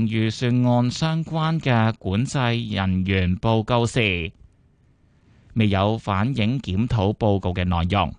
預算案相關嘅管制人員報告時，未有反映檢討報告嘅內容。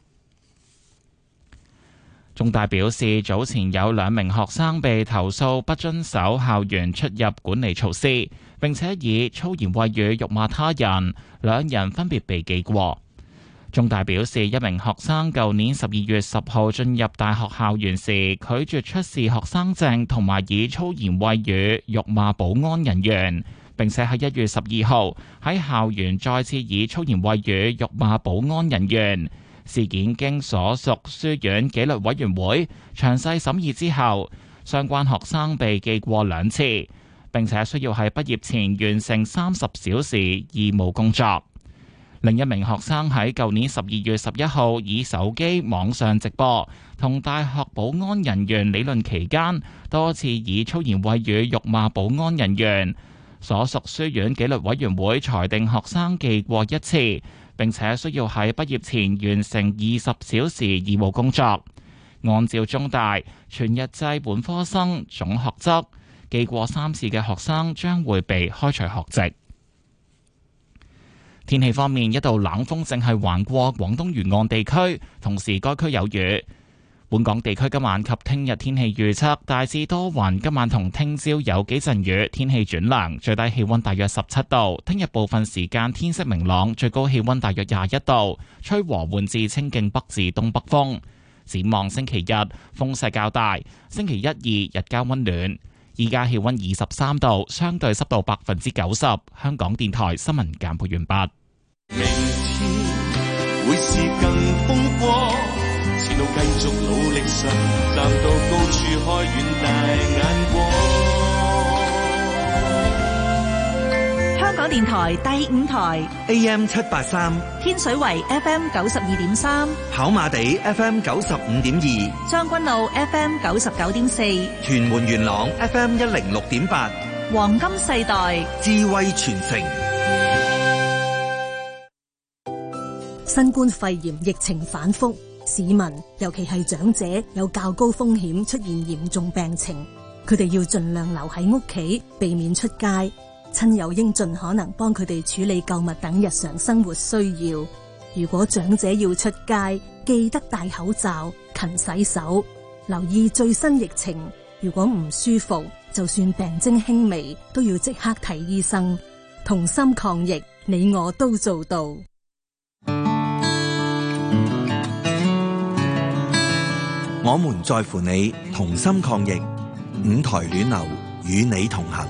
中大表示，早前有2名學生被投訴不遵守校園出入管理措施，並且以粗言穢語辱罵他人，2人分別被記過。中大表示，1名學生舊年12月10號進入大學校園時，拒絕出示學生證，同埋以粗言穢語辱罵保安人員，並且喺1月12號喺校園再次以粗言穢語辱罵保安人員。事件經所屬書院紀律委員會詳細審議之後，相關學生被記過2次，並且需要喺畢業前完成30小時義務工作。另1名學生喺舊年12月11號以手機網上直播同大學保安人員理論期間，多次以粗言穢語辱罵保安人員。所屬書院紀律委員會裁定學生記過1次，並且需要喺畢業前完成20小時義務工作。按照中大全日制本科生總學則，記過3次嘅學生將會被開除學籍。天氣方面，一道冷鋒正係橫過廣東沿岸地區，同時該區有雨。本港地區今晚及聽日天氣預測大致多雲，今晚同聽朝有幾陣雨，天氣轉涼，最低氣溫大約17度。聽日部分時間天色明朗，最高氣溫大約21度，吹和緩至清勁北至東北風。展望星期日風勢較大，星期1、2日間溫暖。依家氣溫23度，相對濕度90%。香港電台新聞簡報完畢。 明天會是更風光，前路繼續努力上，站到高處開遠大眼光。 香港電台第5台 AM 783， 天水圍 FM 92.3， 跑馬地 FM 95.2， 將軍澳 FM 99.4， 屯門元朗 FM 106.8， 黃金世代智慧傳承。 新冠肺炎疫情反覆，市民尤其係長者有較高風險出現嚴重病情，佢哋要盡量留喺屋企，避免出街。親友應盡可能幫佢哋處理購物等日常生活需要。如果長者要出街，記得戴口罩、勤洗手，留意最新疫情。如果唔舒服，就算病徵輕微，都要即刻睇醫生。同心抗疫，你我都做到。 我們在乎你，同心抗疫。5台暖流與你同行。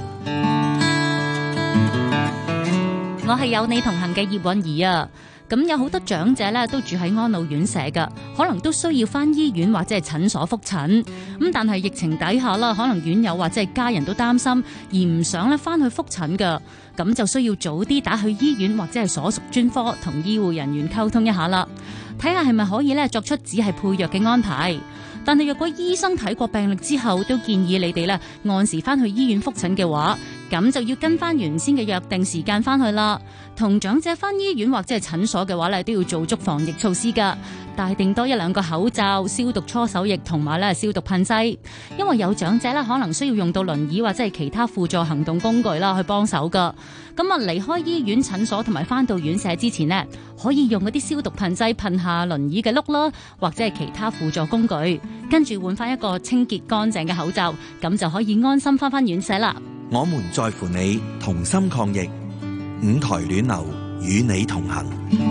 我係有你同行嘅葉韻儀啊，咁有好多長者咧都住喺安老院舍噶，可能都需要翻醫院或者係診所覆診，咁但係疫情底下啦，可能院友或者係家人都擔心，而唔想咧翻去覆診噶，咁就需要早啲打去醫院或者係所屬專科同醫護人員溝通一下啦，睇下係咪可以咧作出只係配藥嘅安排。但係若果醫生睇過病歷之後，都建議你哋咧按時翻去醫院覆診嘅話，咁就要跟翻原先嘅約定時間翻去啦。同長者翻醫院或者係診所嘅話咧，都要做足防疫措施噶，帶定多1-2個口罩、消毒搓手液同埋咧消毒噴劑。因為有長者咧可能需要用到輪椅或者係其他輔助行動工具啦去幫手噶。咁啊離開醫院、診所同埋翻到院舍之前呢，可以用嗰啲消毒噴劑噴下輪椅嘅轆啦，或者係其他輔助工具，跟住換翻一個清潔乾淨嘅口罩，咁就可以安心翻院舍啦。 我們在乎你，同心抗疫。5台暖流與你同行。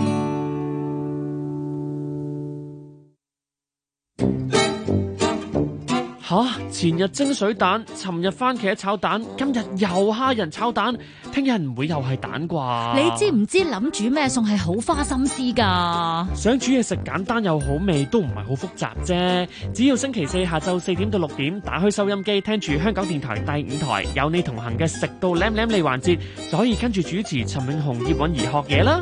前日蒸水蛋，尋日番茄炒蛋，今日又蝦仁炒蛋，聽日唔會又係蛋啩？ 你知唔知諗煮咩餸係好花心思噶？ 想煮嘢食簡單又好味，都唔係好複雜啫。只要星期4下晝4點到6點，打開收音機聽住香港電台第5台有你同行嘅食到舐舐脷環節，就可以跟住主持陳永雄、葉韻儀學嘢啦。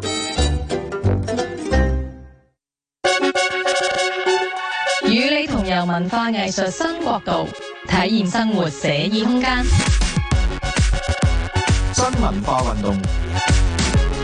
與你同遊文化藝術新國度，體驗生活寫意空間。 新文化運動，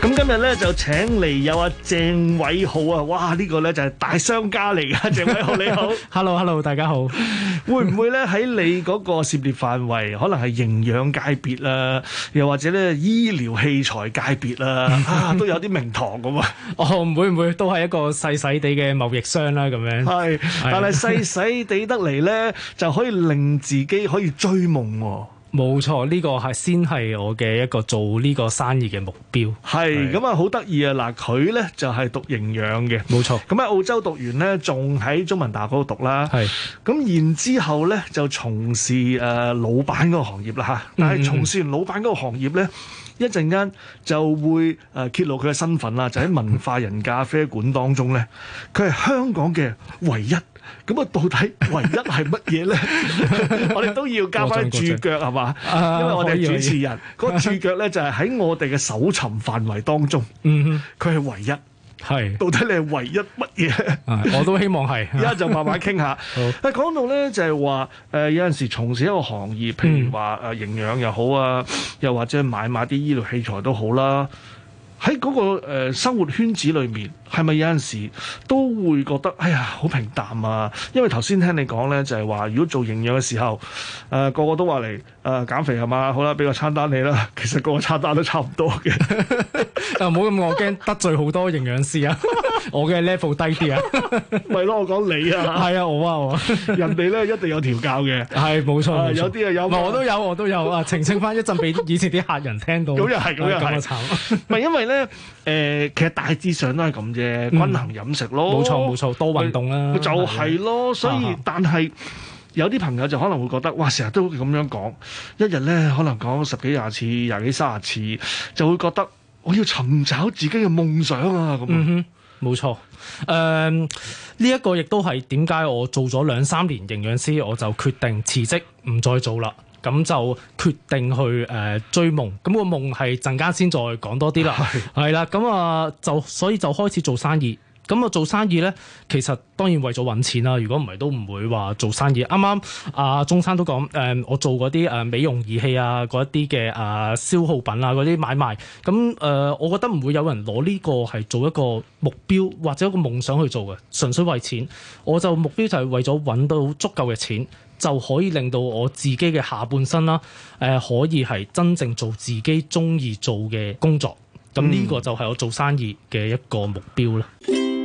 咁今日咧就請嚟有阿鄭偉浩啊，哇！呢個咧就係大商家嚟㗎，鄭偉浩你好。 Hello， 大家好。 會唔會咧喺你嗰個涉獵範圍，可能係營養界別啦，又或者咧醫療器材界別啦，都有啲名堂咁啊？ 唔會都係一個細細地嘅貿易商啦，咁樣。 係，但係細細地得嚟咧，就可以令自己可以追夢喎。 冇錯，呢個係先係我嘅一個做呢個生意嘅目標。 係咁啊，好得意啊！嗱，佢咧就係讀營養嘅， 冇錯。 咁喺澳洲讀完咧，仲喺中文大學嗰度讀啦。係。咁然之後咧，就從事老闆嗰個行業啦嚇。但係從事完老闆嗰個行業咧，一陣間就會揭露佢嘅身份啦，就喺文化人咖啡館當中咧，佢係香港嘅唯一。咁啊，到底唯一係乜嘢咧？我哋都要加翻注腳係嘛？因為我哋係主持人，嗰個注腳咧就係喺我哋嘅搜尋範圍當中，佢係唯一。係，到底你係唯一乜嘢？ 我都希望係。 而家就慢慢傾下。講到咧就係話有陣時從事一個行業，譬如話營養又好啊，又或者買啲醫療器材都好啦。喺嗰個生活圈子裏面，係咪有陣時都會覺得哎呀好平淡啊？因為頭先聽你講咧，就係話如果做營養嘅時候，個個都話嚟減肥係嘛？好啦，俾個餐單你啦。其實個餐單都差唔多嘅。 唔好咁，我驚得罪好多營養師啊！我嘅 level 低啲啊。 咪咯，我講你啊。係啊，我人哋咧一定有調教嘅。係冇錯，有啲有。 我都有啊！澄清翻一陣俾以前啲客人聽到。 咁又係，咁啊慘。唔係因為咧其實大致上都係咁啫，均衡飲食咯。 冇錯，多運動啦。 就係咯，所以但係有啲朋友就可能會覺得，哇！成日都咁樣講，一日咧可能講10幾20次、20幾30次，就會覺得我要尋找自己嘅夢想啊咁。 冇錯。呢一個亦都係點解我做咗2-3年營養師，我就決定辭職唔再做啦。咁就決定去追夢，咁個夢係陣間先再講多啲啦。係啦，咁所以就開始做生意。咁做生意咧，其實當然為咗揾錢啦。如果唔係都唔會話做生意。啱啱阿鍾生都講，我做嗰啲美容儀器啊，嗰一啲嘅消耗品啊，嗰啲買賣。咁我覺得唔會有人攞呢個係做一個目標或者一個夢想去做嘅，純粹為錢。我就目標就係為咗揾到足夠嘅錢，就可以令到我自己嘅下半生啦，可以係真正做自己中意做嘅工作。咁呢個就係我做生意嘅一個目標啦。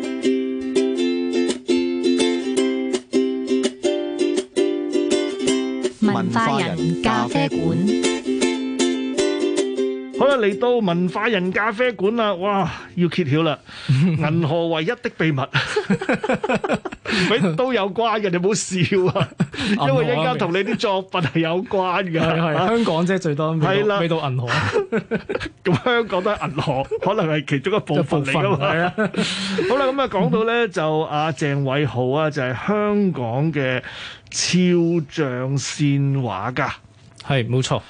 文化人咖啡館。 好啦，嚟到文化人咖啡館啦，哇，要揭曉啦！銀河唯一的秘密，都有關嘅，你唔好笑啊！因為一陣間同你啲作品係有關嘅。係香港啫，最多未到銀河。 咁香港都係銀河，可能係其中一部分嚟㗎嘛。係啊。好啦，咁啊講到咧就阿鄭偉浩啊，就係香港嘅肖像線畫家。 係冇錯。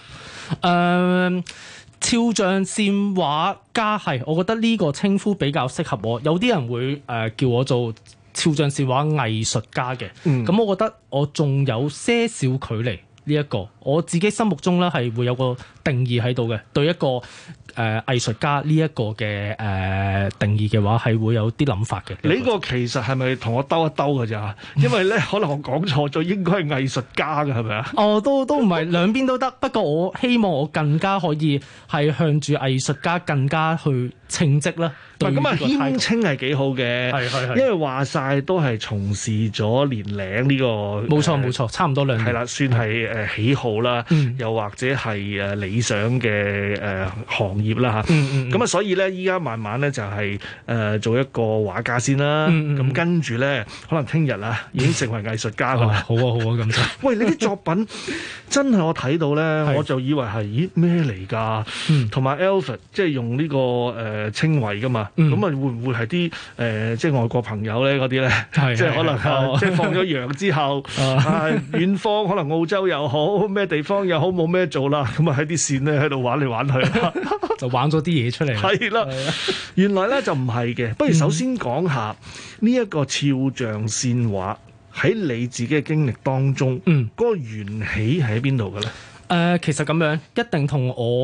肖像線畫家係，我覺得呢個稱呼比較適合我。有啲人會叫我做肖像線畫藝術家嘅，咁我覺得我仲有些少距離呢一個。我自己心目中咧係會有個定義喺度嘅，對一個藝術家呢一個嘅定義嘅話係會有啲諗法嘅。 你個其實係咪同我兜一兜㗎咋？因為咧可能我講錯咗，應該係藝術家㗎，係咪啊？ 都唔係兩邊都得，不過我希望我更加可以係向住藝術家更加去稱職啦。 咁啊，謙稱係幾好嘅，係因為話晒都係從事咗年齡呢個。冇錯，差唔多2年。係啦，算係喜好啦，又或者係理想嘅行業啦嚇。咁啊，所以咧依家慢慢咧就係做一個畫家先啦。咁跟住咧，可能聽日啊已經成為藝術家㗎啦。 好啊，咁就。 喂，你啲作品真係我睇到咧，我就以為係咩嚟㗎？同埋 Alfred 即係用呢個稱謂㗎嘛。咁啊，會唔會係啲即係外國朋友咧嗰啲咧？即係可能即係放咗羊之後，遠方可能澳洲又好，咩地方又好，冇咩做啦，咁啊喺啲線咧喺度玩嚟玩去， 就玩咗啲嘢出嚟。 係啦，原來咧就唔係嘅。不如首先講下呢一個肖像線畫喺你自己嘅經歷當中，嗰個緣起喺邊度嘅咧？ 其實咁樣一定同我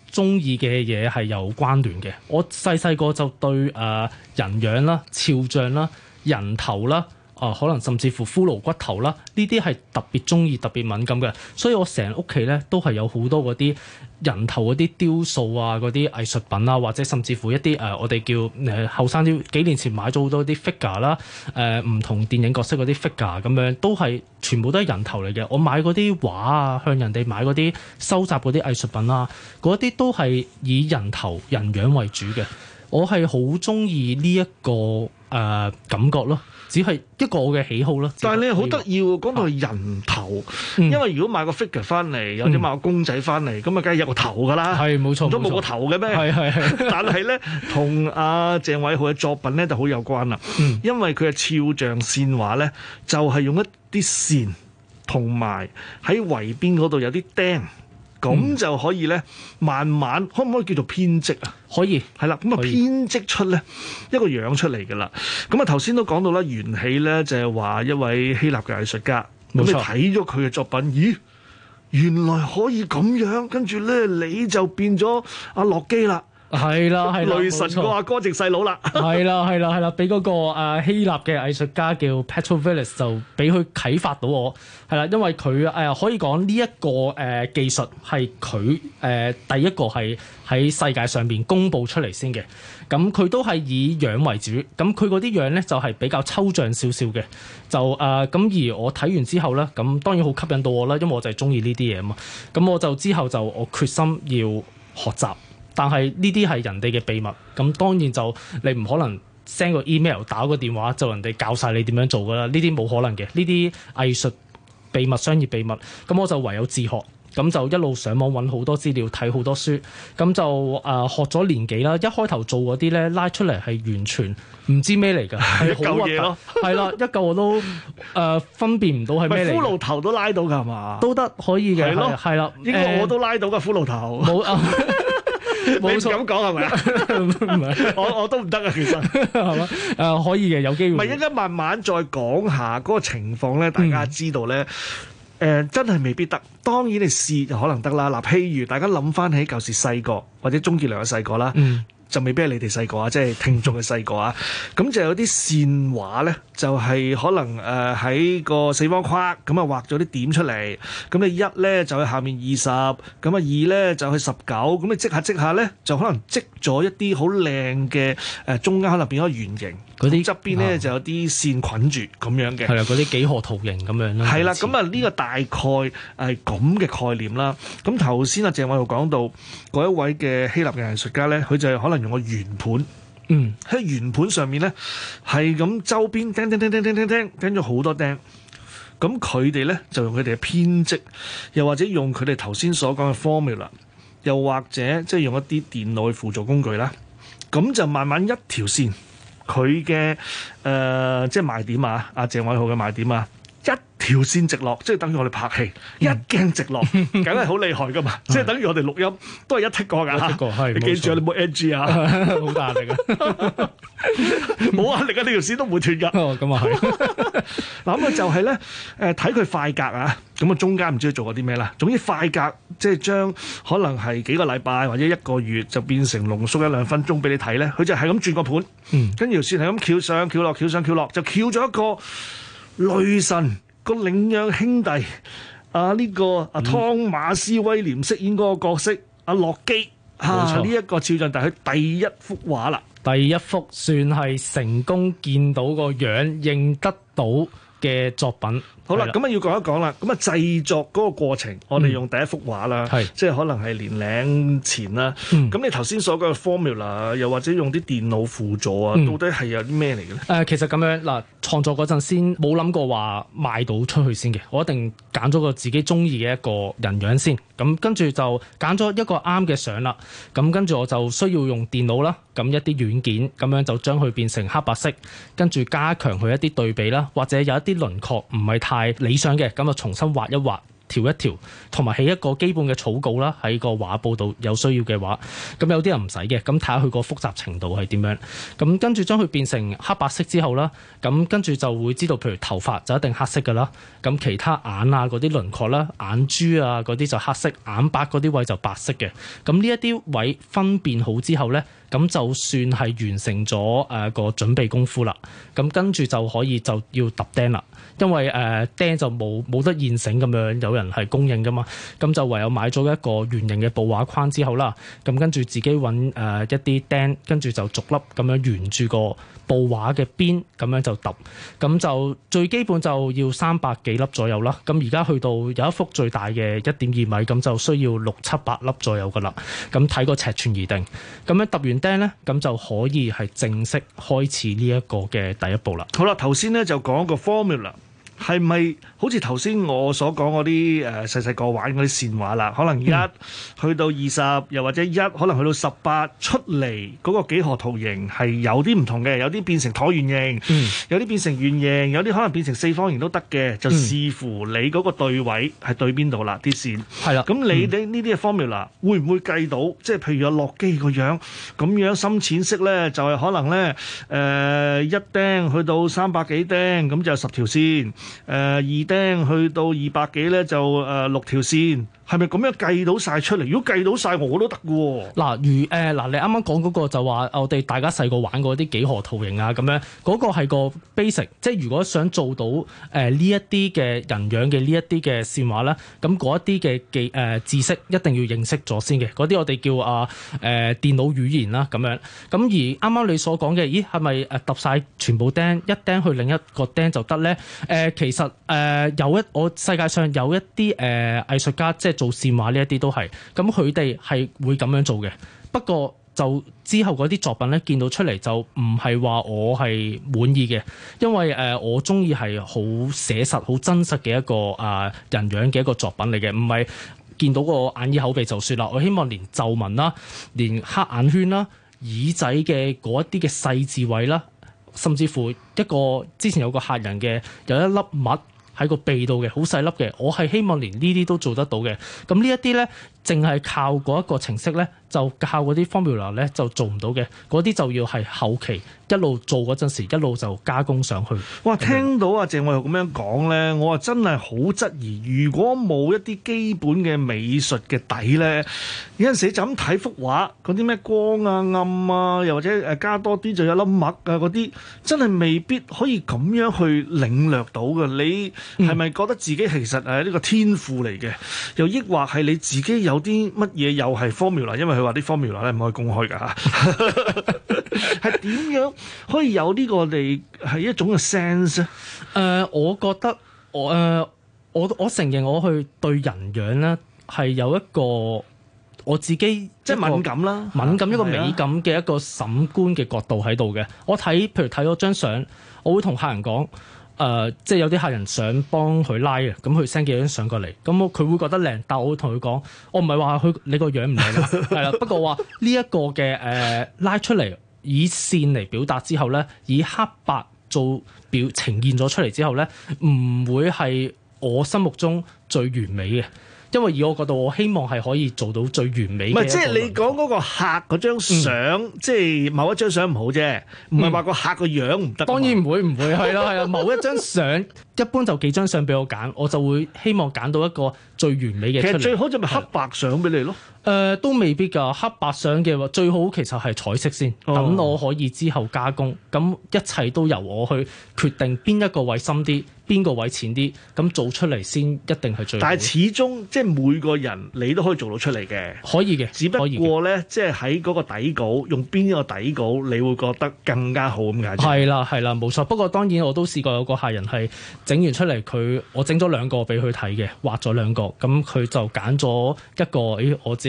中意嘅嘢係有關聯嘅。我細個就對人樣啦、肖像啦、人頭啦。可能甚至乎骷髏骨頭啦，呢啲係特別中意、特別敏感嘅，所以我成屋企咧都係有好多嗰啲人頭嗰啲雕塑啊、嗰啲藝術品啊，或者甚至乎一啲我哋叫後生啲幾年前買咗好多啲 figure 啦，唔同電影角色嗰啲 figure 咁樣，都係全部都係人頭嚟嘅。我買嗰啲畫啊，向人哋買嗰啲收集嗰啲藝術品啊，嗰啲都係以人頭人樣為主嘅。我係好中意呢一個感覺咯。只係一個我嘅喜好啦。 但係你好得意喎，講到係人頭，因為如果買個 figure 翻嚟，或者買個公仔翻嚟，咁啊梗係有個頭㗎啦。 係冇錯， 都冇個頭嘅咩？係。但係咧，同阿鄭偉豪嘅作品咧就好有關啦。因為佢嘅肖像線畫咧，就係用一啲線，同埋喺圍邊嗰度有啲釘。咁就可以咧，慢慢可唔可以叫做編織啊？ 可以， 係啦，咁啊編織出咧一個樣出嚟㗎啦。咁啊頭先都講到啦，緣起咧就係話一位希臘嘅藝術家，咁你睇咗佢嘅作品，咦，原來可以咁樣，跟住咧你就變咗阿洛基啦。 係啦， 雷神個阿哥直細佬啦， 係啦，俾嗰個希臘嘅藝術家叫 Petrovilis 就俾佢啟發到我，係啦，因為佢可以講呢一個技術係佢第一個係喺世界上邊公佈出嚟先嘅，咁佢都係以樣為主，咁佢嗰啲樣咧就係比較抽象少少嘅，就咁而我睇完之後咧，咁當然好吸引到我啦，因為我就係中意呢啲嘢啊嘛，咁我就之後就我決心要學習。但係呢啲係人哋嘅秘密，咁當然就你唔可能 send 個 email 打個電話就人哋教晒你點樣做㗎啦，呢啲冇可能嘅，呢啲藝術秘密、商業秘密，咁我就唯有自學，咁就一路上網揾好多資料，睇好多書，咁就學咗年幾啦。一開頭做嗰啲咧拉出嚟係完全唔知咩嚟㗎，係好核突，係啦，一嚿我都分辨唔到係咩嚟。 骷髏頭都拉到㗎係嘛？ 都得可以嘅，係啦， 應該我都拉到㗎骷髏頭。冇冇咁講係咪啊？唔係，我都唔得啊，其實係嘛？可以嘅，有機會。 唔係，一陣慢慢再講下嗰個情況咧，大家知道咧，真係未必得。當然你試就可能得啦。嗱，譬如大家諗翻起舊時細個或者鍾傑良嘅細個啦。就未必係你哋細個啊，即係聽眾嘅細個啊。咁就有啲線畫咧，就係可能喺個四方框咁啊畫咗啲點出嚟。咁你1咧就去下面20，咁啊2咧就去19。咁你積下咧，就可能積咗一啲好靚嘅中間可能變咗圓形。嗰啲側邊咧就有啲線捆住咁樣嘅。係啦， 嗰啲幾何圖形咁樣啦。 係啦，咁啊呢個大概係咁嘅概念啦。咁頭先阿鄭偉豪講到嗰一位嘅希臘嘅藝術家咧，佢就係可能用個圓盤，喺圓盤上面咧係咁周邊釘，釘咗好多釘。咁佢哋咧就用佢哋嘅編織，又或者用佢哋頭先所講嘅 formula， 又或者即係用一啲電腦去輔助工具啦。咁就慢慢一條線，佢嘅即係賣點啊，阿鄭偉豪嘅賣點啊。一條線直落，即係等於我哋拍戲，一鏡直落，梗係好厲害噶嘛！即係等於我哋錄音都係一剔過㗎。你記住你冇 NG 啊， 好大壓力啊！ 冇壓力啊！呢條線都唔會斷㗎。 咁啊係。 嗱咁啊就係咧睇佢快格啊，咁啊中間唔知佢做過啲咩啦。總之快格即係將可能係幾個禮拜或者1個月就變成濃縮1-2分鐘俾你睇咧。佢就係咁轉個盤，跟住條線係咁翹上翹落，翹上翹落，就翹咗一個雷神個領養兄弟呢個湯馬斯威廉飾演嗰個角色洛基呢一個肖像，但係佢第一幅畫啦， 第一幅算係成功見到個樣認得到嘅作品。 好啦，咁啊要講一講啦。咁啊製作嗰個過程，我哋用第一幅畫啦，即係可能係年零前啦。咁你頭先所講嘅 formula， 又或者用啲電腦輔助啊，到底係有啲咩嚟嘅咧？ 其實咁樣嗱，創作嗰陣先冇諗過話賣到出去先嘅，我一定揀咗個自己中意嘅一個人樣先。咁跟住就揀咗一個啱嘅相啦。咁跟住我就需要用電腦啦，咁一啲軟件咁樣就將佢變成黑白色，跟住加強佢一啲對比啦，或者有一啲輪廓唔係太理想嘅，咁就重新畫一畫， 調一調，同埋起一個基本嘅草稿啦，喺個畫布度有需要嘅話，咁有啲人唔使嘅，咁睇下佢個複雜程度係點樣。咁跟住將佢變成黑白色之後啦，咁跟住就會知道，譬如頭髮就一定黑色㗎啦，咁其他眼啊嗰啲輪廓啦、眼珠啊嗰啲就黑色，眼白嗰啲位就白色嘅。咁呢一啲位分辨好之後咧，咁就算係完成咗個準備功夫啦。咁跟住就可以就要揼釘啦，因為釘就冇得現成咁樣有人係供應噶嘛，咁就唯有買咗一個圓形嘅布畫框之後啦，咁跟住自己揾一啲釘，跟住就逐粒咁樣沿住個布畫嘅邊咁樣就揼，咁就最基本就要300幾粒左右啦。咁而家去到有一幅最大嘅1.2米，咁就需要600-700粒左右噶啦。咁睇個尺寸而定。咁樣揼完釘咧，咁就可以係正式開始呢一個嘅第一步啦。 好啦，頭先咧就講個 formula。係咪好似頭先我所講嗰啲細細個玩嗰啲線畫啦？可能1去到20，又或者1可能去到18出嚟嗰個幾何圖形係有啲唔同嘅，有啲變成橢圓形，有啲變成圓形，有啲可能變成四方形都得嘅，就視乎你嗰個對位係對邊度啦啲線。係啦，咁你哋呢啲嘅 formula 會唔會計到？即係譬如有洛基個樣咁樣深淺色咧，就係可能咧1釘去到300幾釘，咁就10條線。2釘去到200幾咧，就6條線。係咪咁樣計到晒出嚟？如果計到晒，我都得嘅喎。嗱，你啱啱講嗰個就話我哋大家細個玩過啲幾何圖形啊，咁樣嗰個係個 basic，即係如果想做到呢一啲嘅人樣嘅呢一啲嘅線畫咧，咁嗰一啲嘅知識一定要認識咗先嘅。嗰啲我哋叫電腦語言啦咁樣。咁而啱啱你所講嘅，咦係咪揼晒全部釘一釘去另一個釘就得咧？其實我世界上有一啲藝術家即係做線畫呢一啲都係，咁佢哋係會咁樣做嘅。不過就之後嗰啲作品咧，見到出嚟就唔係話我係滿意嘅，因為我中意係好寫實、好真實嘅一個人樣嘅一個作品嚟嘅，唔係見到個眼耳口鼻就算啦。我希望連皺紋啦、連黑眼圈啦、耳仔嘅嗰一啲嘅細緻位啦，甚至乎之前有個客人嘅有一粒癦喺個鼻度嘅，好細粒嘅，我係希望連呢啲都做得到嘅。咁呢一啲咧，淨係靠嗰一個程式咧，就靠嗰啲 formula 咧就做唔到嘅。嗰啲就要係後期一路做嗰陣時，一路就加工上去。哇！聽到阿鄭偉豪咁樣講咧，我真係好質疑，如果冇一啲基本嘅美術嘅底咧，有陣時就咁睇幅畫，嗰啲咩光啊、暗啊，又或者加多啲就有粒墨啊嗰啲，真係未必可以咁樣去領略到嘅。你係咪覺得自己其實係呢個天賦嚟嘅？又抑或係你自己有啲乜嘢又係 formula？ 因為佢話啲 formula 咧唔可以公開㗎嚇。係點樣可以有呢個係一種嘅 sense 咧？我覺得我承認我去對人樣咧係有一個我自己即係敏感啦，敏感一個美感嘅一個審觀嘅角度喺度嘅。我譬如睇咗張相，我會同客人講。即係有啲客人想幫佢拉嘅，咁佢 send 幾張相過嚟，咁佢會覺得靚，但我會同佢講，我唔係話你個樣唔靚啦，係啦，不過話呢一個嘅拉出嚟，以線嚟表達之後咧，以黑白做呈現咗出嚟之後咧，唔會係我心目中最完美嘅。因為以我角度，我希望係可以做到最完美嘅。唔係，即係你講嗰個客嗰張相，即係某一張相唔好啫，唔係話個客個樣唔得。當然唔會係啦，某一張相，一般就幾張相俾我揀，我就會希望揀到一個最完美嘅出嚟。其實最好就咪黑白相俾你咯。都未必㗎，黑白相嘅話最好其實係彩色先，等我可以之後加工。咁一切都由我去決定邊一個位深啲，邊個位淺啲，咁做出嚟先一定係最好。但係始終即係每個人你都可以做到出嚟嘅，可以嘅。只不過咧，即係喺嗰個底稿用邊一個底稿，你會覺得更加好咁解。係啦，冇錯。不過當然我都試過有個客人係整完出嚟，我整咗2個俾佢睇嘅，畫咗2個，咁佢就揀咗一個，我自己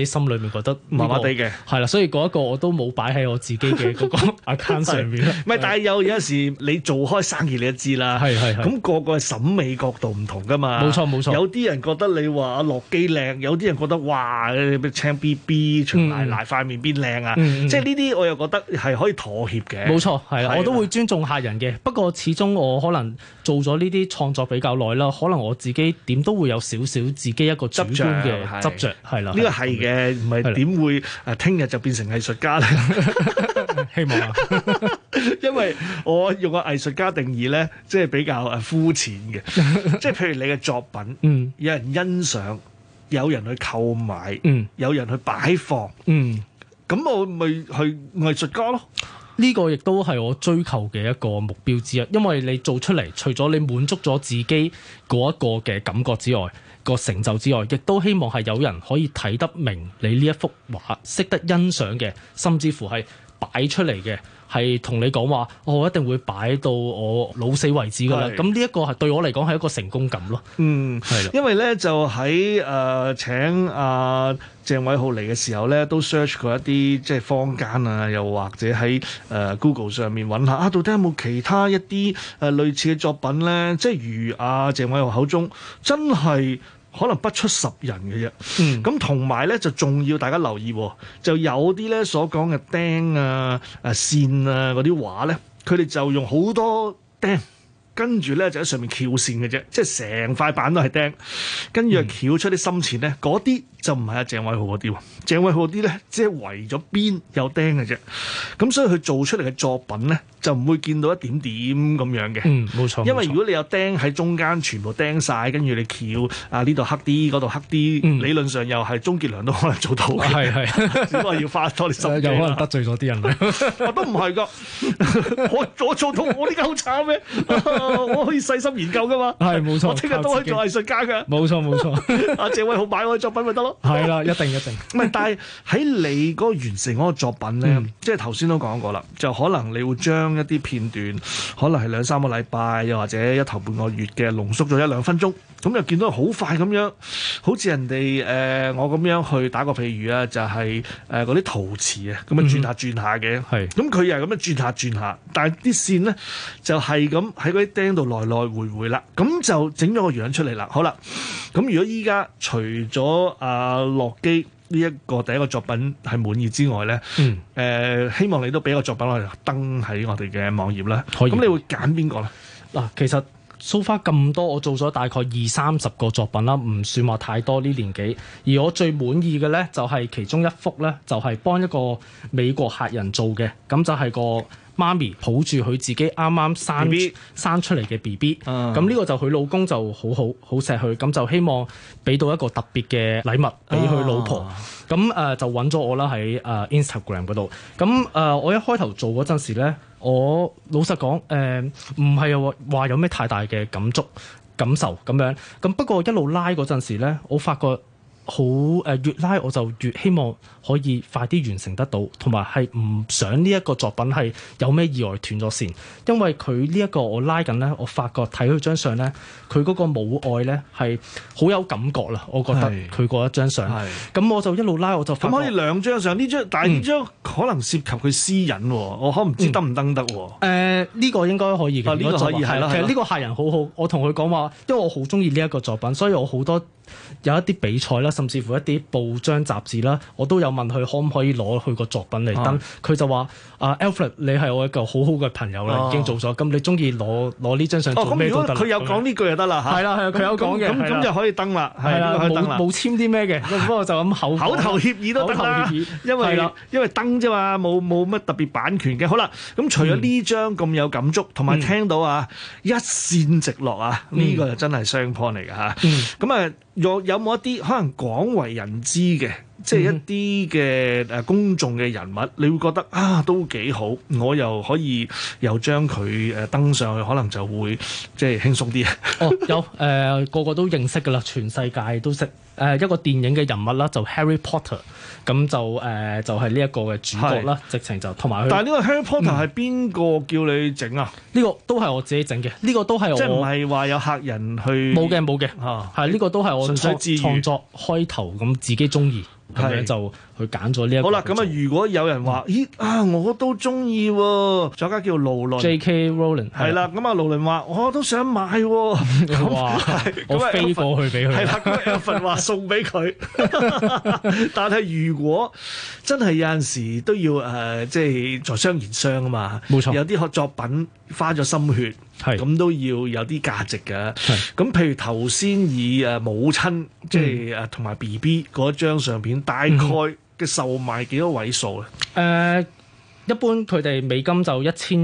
心裏面覺得麻麻地嘅， 係啦，所以嗰一個我都冇擺喺我自己嘅嗰個 account 上面。 唔係，但係有時你做開生意你都知啦，咁個個審美角度唔同噶嘛。 冇錯， 有啲人覺得你話阿樂基靚，有啲人覺得哇青 BB 長奶奶塊面邊靚啊，即係呢啲我又覺得係可以妥協嘅。 冇錯，係啦，我都會尊重客人嘅。不過始終我可能做咗呢啲創作比較耐啦，可能我自己點都會有少少自己一個主觀嘅執着，係啦。 呢個係嘅，唔係點會聽日就變成藝術家咧？ 希望啊， 因為我用個藝術家定義咧，即係比較膚淺嘅，即係譬如你嘅作品，有人欣賞，有人去購買，有人去擺放，咁我咪去藝術家咯。 呢個亦都係我追求嘅一個目標之一，因為你做出嚟，除咗你滿足咗自己嗰一個嘅感覺之外，個成就之外，亦都希望係有人可以睇得明你呢一幅畫，識得欣賞嘅，甚至乎係擺出嚟嘅，係同你講話，我一定會擺到我老死為止㗎啦。咁呢一個係對我嚟講係一個成功感咯。係啦， 因為咧就喺請阿鄭偉浩嚟嘅時候咧，都 search 過一啲即係坊間啊，又或者喺Google 上面揾下到底有冇其他一啲類似嘅作品咧？即係如阿鄭偉浩口中，真係可能不出10人嘅啫。咁同埋咧就仲要大家留意，就有啲咧所講嘅釘啊、線啊嗰啲畫咧，佢哋就用好多釘。跟住咧就喺上面翹線嘅啫，即係成塊板都係釘，跟住又翹出啲深淺咧，嗰啲就唔係阿鄭偉浩嗰啲喎。鄭偉浩嗰啲咧，即係圍咗邊有釘嘅啫。咁所以佢做出嚟嘅作品咧，就唔會見到一點點咁樣嘅。冇錯。因為如果你有釘喺中間，全部釘晒，跟住你翹呢度黑啲，嗰度黑啲，理論上又係鍾傑良都可能做到嘅。係，只不過要花多啲心機。 有可能得罪咗啲人我都唔係㗎，我做到我呢家好慘咩？我可以細心研究噶嘛，係冇錯。我聽日都可以做藝術家噶，冇錯。阿謝偉豪買我嘅作品咪得咯，係啦，一定。唔係，但係喺你嗰個完成嗰個作品咧，即係頭先都講過啦，就可能你會將一啲片段，可能係2-3個禮拜，又或者一頭半個月嘅濃縮咗1-2分鐘，咁就見到好快咁樣，好似人哋我咁樣去打個譬如啊，就係嗰啲陶瓷啊，咁樣轉下嘅，係。咁佢又係咁樣轉下，但係啲線咧就係咁喺嗰啲釘度來回啦，咁就整咗個樣出嚟啦。好啦，咁如果依家除咗阿樂基呢一個第一個作品係滿意之外咧，希望你都俾個作品我哋登喺我哋嘅網頁啦。咁你會揀邊個咧？ 嗱，其實so far咁多，我做咗大概20-30個作品啦，唔算話太多呢年紀。而我最滿意嘅咧，就係其中一幅咧，就係幫一個美國客人做嘅，咁就係個媽咪抱住佢自己啱啱生出嚟嘅 BB， 咁呢個就佢老公就好錫佢，咁就希望俾到一個特別嘅禮物俾佢老婆，咁就揾咗我啦喺Instagram 嗰度。咁我一開頭做嗰陣時咧，我老實講唔係話有咩太大嘅感受咁樣，咁不過一路拉嗰陣時咧，我發覺越拉我就越希望可以快啲完成得到，同埋係唔想呢一個作品係有咩意外斷咗線，因為佢呢一個我拉緊咧，我發覺睇佢張相咧，佢嗰個母愛咧係好有感覺啦，我覺得佢嗰一張相，咁我就一路拉我就發覺咁可以2張相，呢張但係呢張可能涉及佢私隱喎，我可唔知得唔登得喎？ 呢個應該可以嘅， 呢個可以係啦。 其實呢個客人好好，我同佢講話，因為我好中意呢一個作品，所以我好多有一啲比賽啦，甚至乎一啲報章雜誌啦，我都有問佢可唔可以攞佢個作品嚟登，佢就話Alfred 你係我一個好好嘅朋友啦，已經做咗，咁你中意攞呢張相做咩都得。 佢有講呢句就得啦嚇。係啦，佢有講嘅，咁就可以登啦。係啦， 冇簽啲咩嘅，不過就咁口頭協議都得啦。因為登啫嘛，冇乜特別版權嘅。好啦，咁除咗呢張咁有感觸，同埋聽到一線直落呢個就真係雙 point 嚟㗎嚇。咁有冇一啲可能廣為人知嘅，即係一啲嘅公眾嘅人物，你會覺得都幾好，我又可以又將佢登上去，可能就會即係輕鬆啲有個個都認識㗎啦，全世界都識一個電影嘅人物啦，就 Harry Potter， 咁就係呢一個嘅主角啦，直情就同埋佢。但係呢個 Harry Potter 係邊個叫你整啊？呢個都係我自己整嘅，呢個都係我即係唔係話有客人去冇嘅，係呢個都係我創作開頭咁自己中意。 咁樣就去揀咗呢一個。 好啦，咁啊，如果有人話，咦啊，我都中意喎，作家叫勞倫 J.K. Rowling 係啦，咁啊勞倫話我都想買喎， 哇！我飛過去俾佢， 係啦，咁 Alfred 話送俾佢，但係如果真係有陣時都要即係在商言商啊嘛， 冇錯， 有啲作品花咗心血。咁都要有啲價值嘅。咁譬如頭先以母親即係同埋 BB 嗰張相片，大概嘅售賣幾多位數咧？ 一般佢哋美金就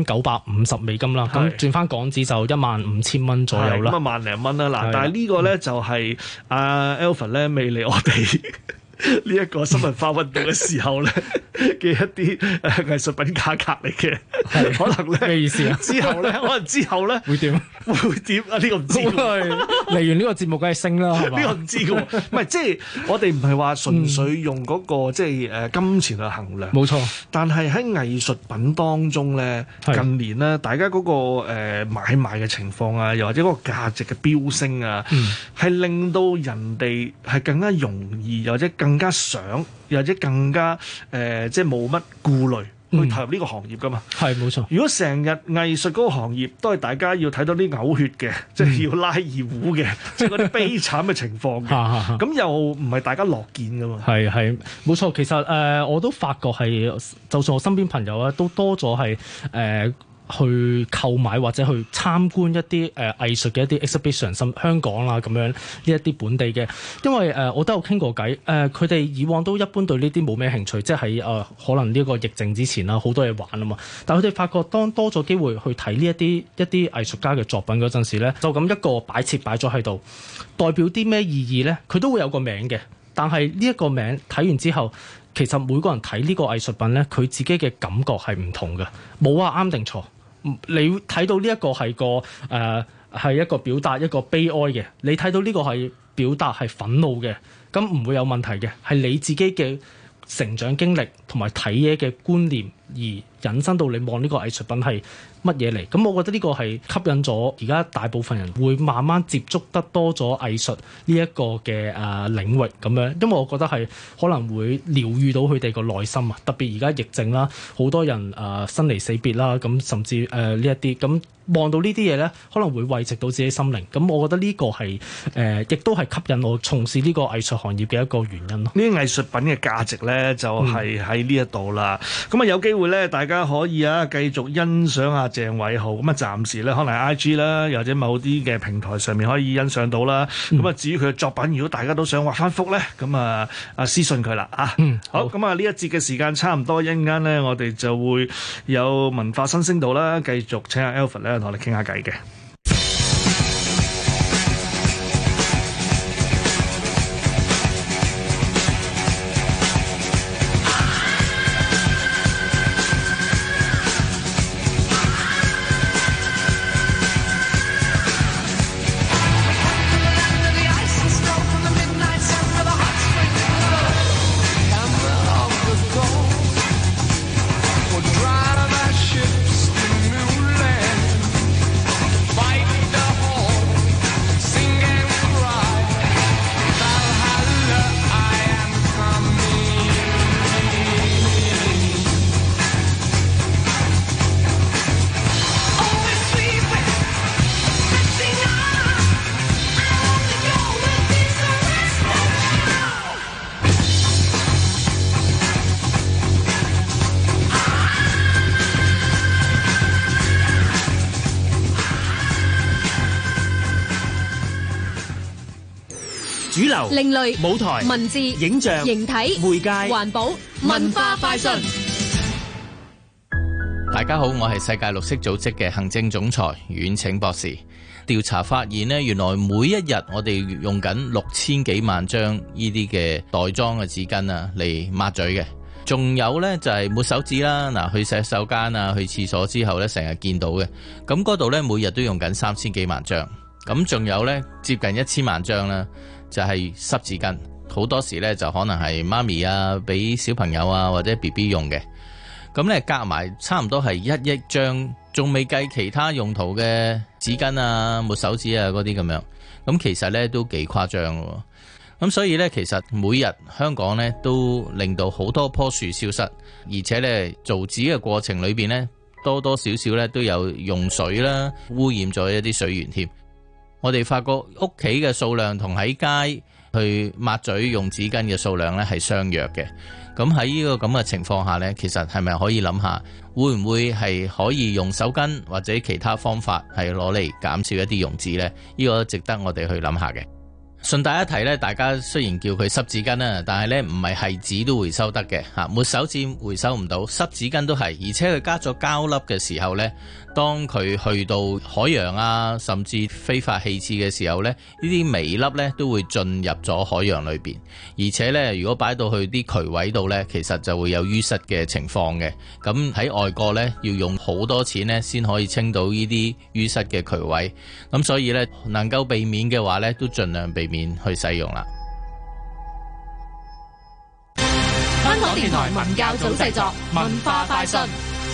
1950美金啦，咁轉翻港紙就15000蚊左右啦。 咁啊10000零蚊啦。嗱，但係呢個咧就係Alfred 咧未嚟我哋呢一個新文化運動嘅時候咧嘅一啲藝術品價格嚟嘅，可能咧咩意思啊？ 之後咧，可能之後咧會點？ 會點啊？呢個唔知喎。 嚟完呢個節目梗係升啦，係嘛？ 呢個唔知嘅喎，唔係即係我哋唔係話純粹用嗰個即係金錢去衡量。冇錯。 但係喺藝術品當中咧，近年咧，大家嗰個買賣嘅情況啊，又或者嗰個價值嘅飆升啊，係令到人哋係更加容易，又或者更加想，又或者更加即係冇乜顧慮去投入呢個行業噶嘛。 係冇錯。 如果成日藝術嗰個行業都係大家要睇到啲嘔血嘅，即係要拉二胡嘅，即係嗰啲悲慘嘅情況嘅，咁又唔係大家樂見噶嘛。係冇錯。其實我都發覺係，就算我身邊朋友啊，都多咗係去購買或者去參觀一啲藝術嘅一啲 exhibition，香港啦咁樣呢一啲本地嘅，因為我都有傾過偈，佢哋以往都一般對呢啲冇咩興趣，即係喺可能呢個疫症之前啦，好多嘢玩啊嘛。但係佢哋發覺當多咗機會去睇呢一啲藝術家嘅作品嗰陣時咧，就咁一個擺設擺咗喺度，代表啲咩意義咧？佢都會有個名嘅，但係呢一個名睇完之後，其實每個人睇呢個藝術品咧，佢自己嘅感覺係唔同嘅，冇話啱定錯。你睇到呢一個係係一個表達一個悲哀嘅，你睇到呢個係表達係憤怒嘅，咁唔會有問題嘅，係你自己嘅成長經歷同埋睇嘢嘅觀念而引申到你望呢個藝術品係乜嘢嚟。咁我覺得呢個係吸引咗而家大部分人會慢慢接觸得多咗藝術呢一個嘅領域咁樣，因為我覺得係可能會療癒到佢哋個內心啊。特別而家疫症啦，好多人生離死別啦，咁甚至呢一啲咁望到呢啲嘢咧，可能會慰藉到自己心靈。咁我覺得呢個係亦都係吸引我從事呢個藝術行業嘅一個原因咯。 呢啲藝術品嘅價值咧，就係喺呢一度啦。咁有機會咧，大家可以繼續欣賞下鄭偉豪。咁暫時咧，可能 IG 啦，又或者某啲嘅平台上面可以欣賞到啦。咁至於佢嘅作品，如果大家都想畫翻幅咧，咁私信佢啦啊。好，咁呢一節嘅時間差唔多，一陣間咧，我哋就會有文化新星道啦，繼續請阿 Alfred 咧同我哋傾下偈嘅。 主流、另類、 舞台、 文字、 影像、 形體、 媒介、 環保、文化快訊。 大家好，我係世界綠色組織嘅行政總裁阮拯博士。調查發現呢，原來每一日我哋用緊6000幾萬張呢啲嘅袋裝嘅紙巾啊嚟抹嘴嘅。仲有呢，就係抹手指啦，嗱，去洗手間啊，去廁所之後呢，成日見到嘅。咁嗰度呢，每日都用緊3000幾萬張。咁仲有呢，接近1000萬張啦，就係濕紙巾。好多時呢，就可能係媽咪啊，俾小朋友啊或者 BB 用嘅。咁呢，夾埋差唔多係1億張，仲未計其他用途嘅紙巾啊、抹手指啊嗰啲咁樣。咁其實呢，都幾誇張喎。 咁所以呢，其實每日香港呢都令到好多棵樹消失，而且呢，造紙嘅過程裏邊呢，多多少少呢都有用水啦，污染咗一啲水源添。我哋發覺屋企嘅數量同喺街去抹嘴用紙巾嘅數量呢係相若嘅。咁喺呢個咁嘅情況下呢，其實係咪可以諗下，會唔會係可以用手巾或者其他方法係攞嚟減少一啲用紙呢？呢個值得我哋去諗下嘅。順帶一提咧，大家雖然叫佢濕紙巾啦，但係咧唔係紙都回收得嘅嚇，抹手紙回收唔到，濕紙巾都係，而且佢加咗膠粒嘅時候咧，當佢去到海洋啊，甚至非法棄置嘅時候咧，呢啲微粒咧都會進入咗海洋裏邊，而且咧如果擺到去啲渠位度咧，其實就會有淤塞嘅情況嘅。咁喺外國咧要用好多錢咧先可以清到呢啲淤塞嘅渠位，咁所以咧能夠避免嘅話咧，都盡量避免去使用啦。 香港電台文教組製作文化快訊。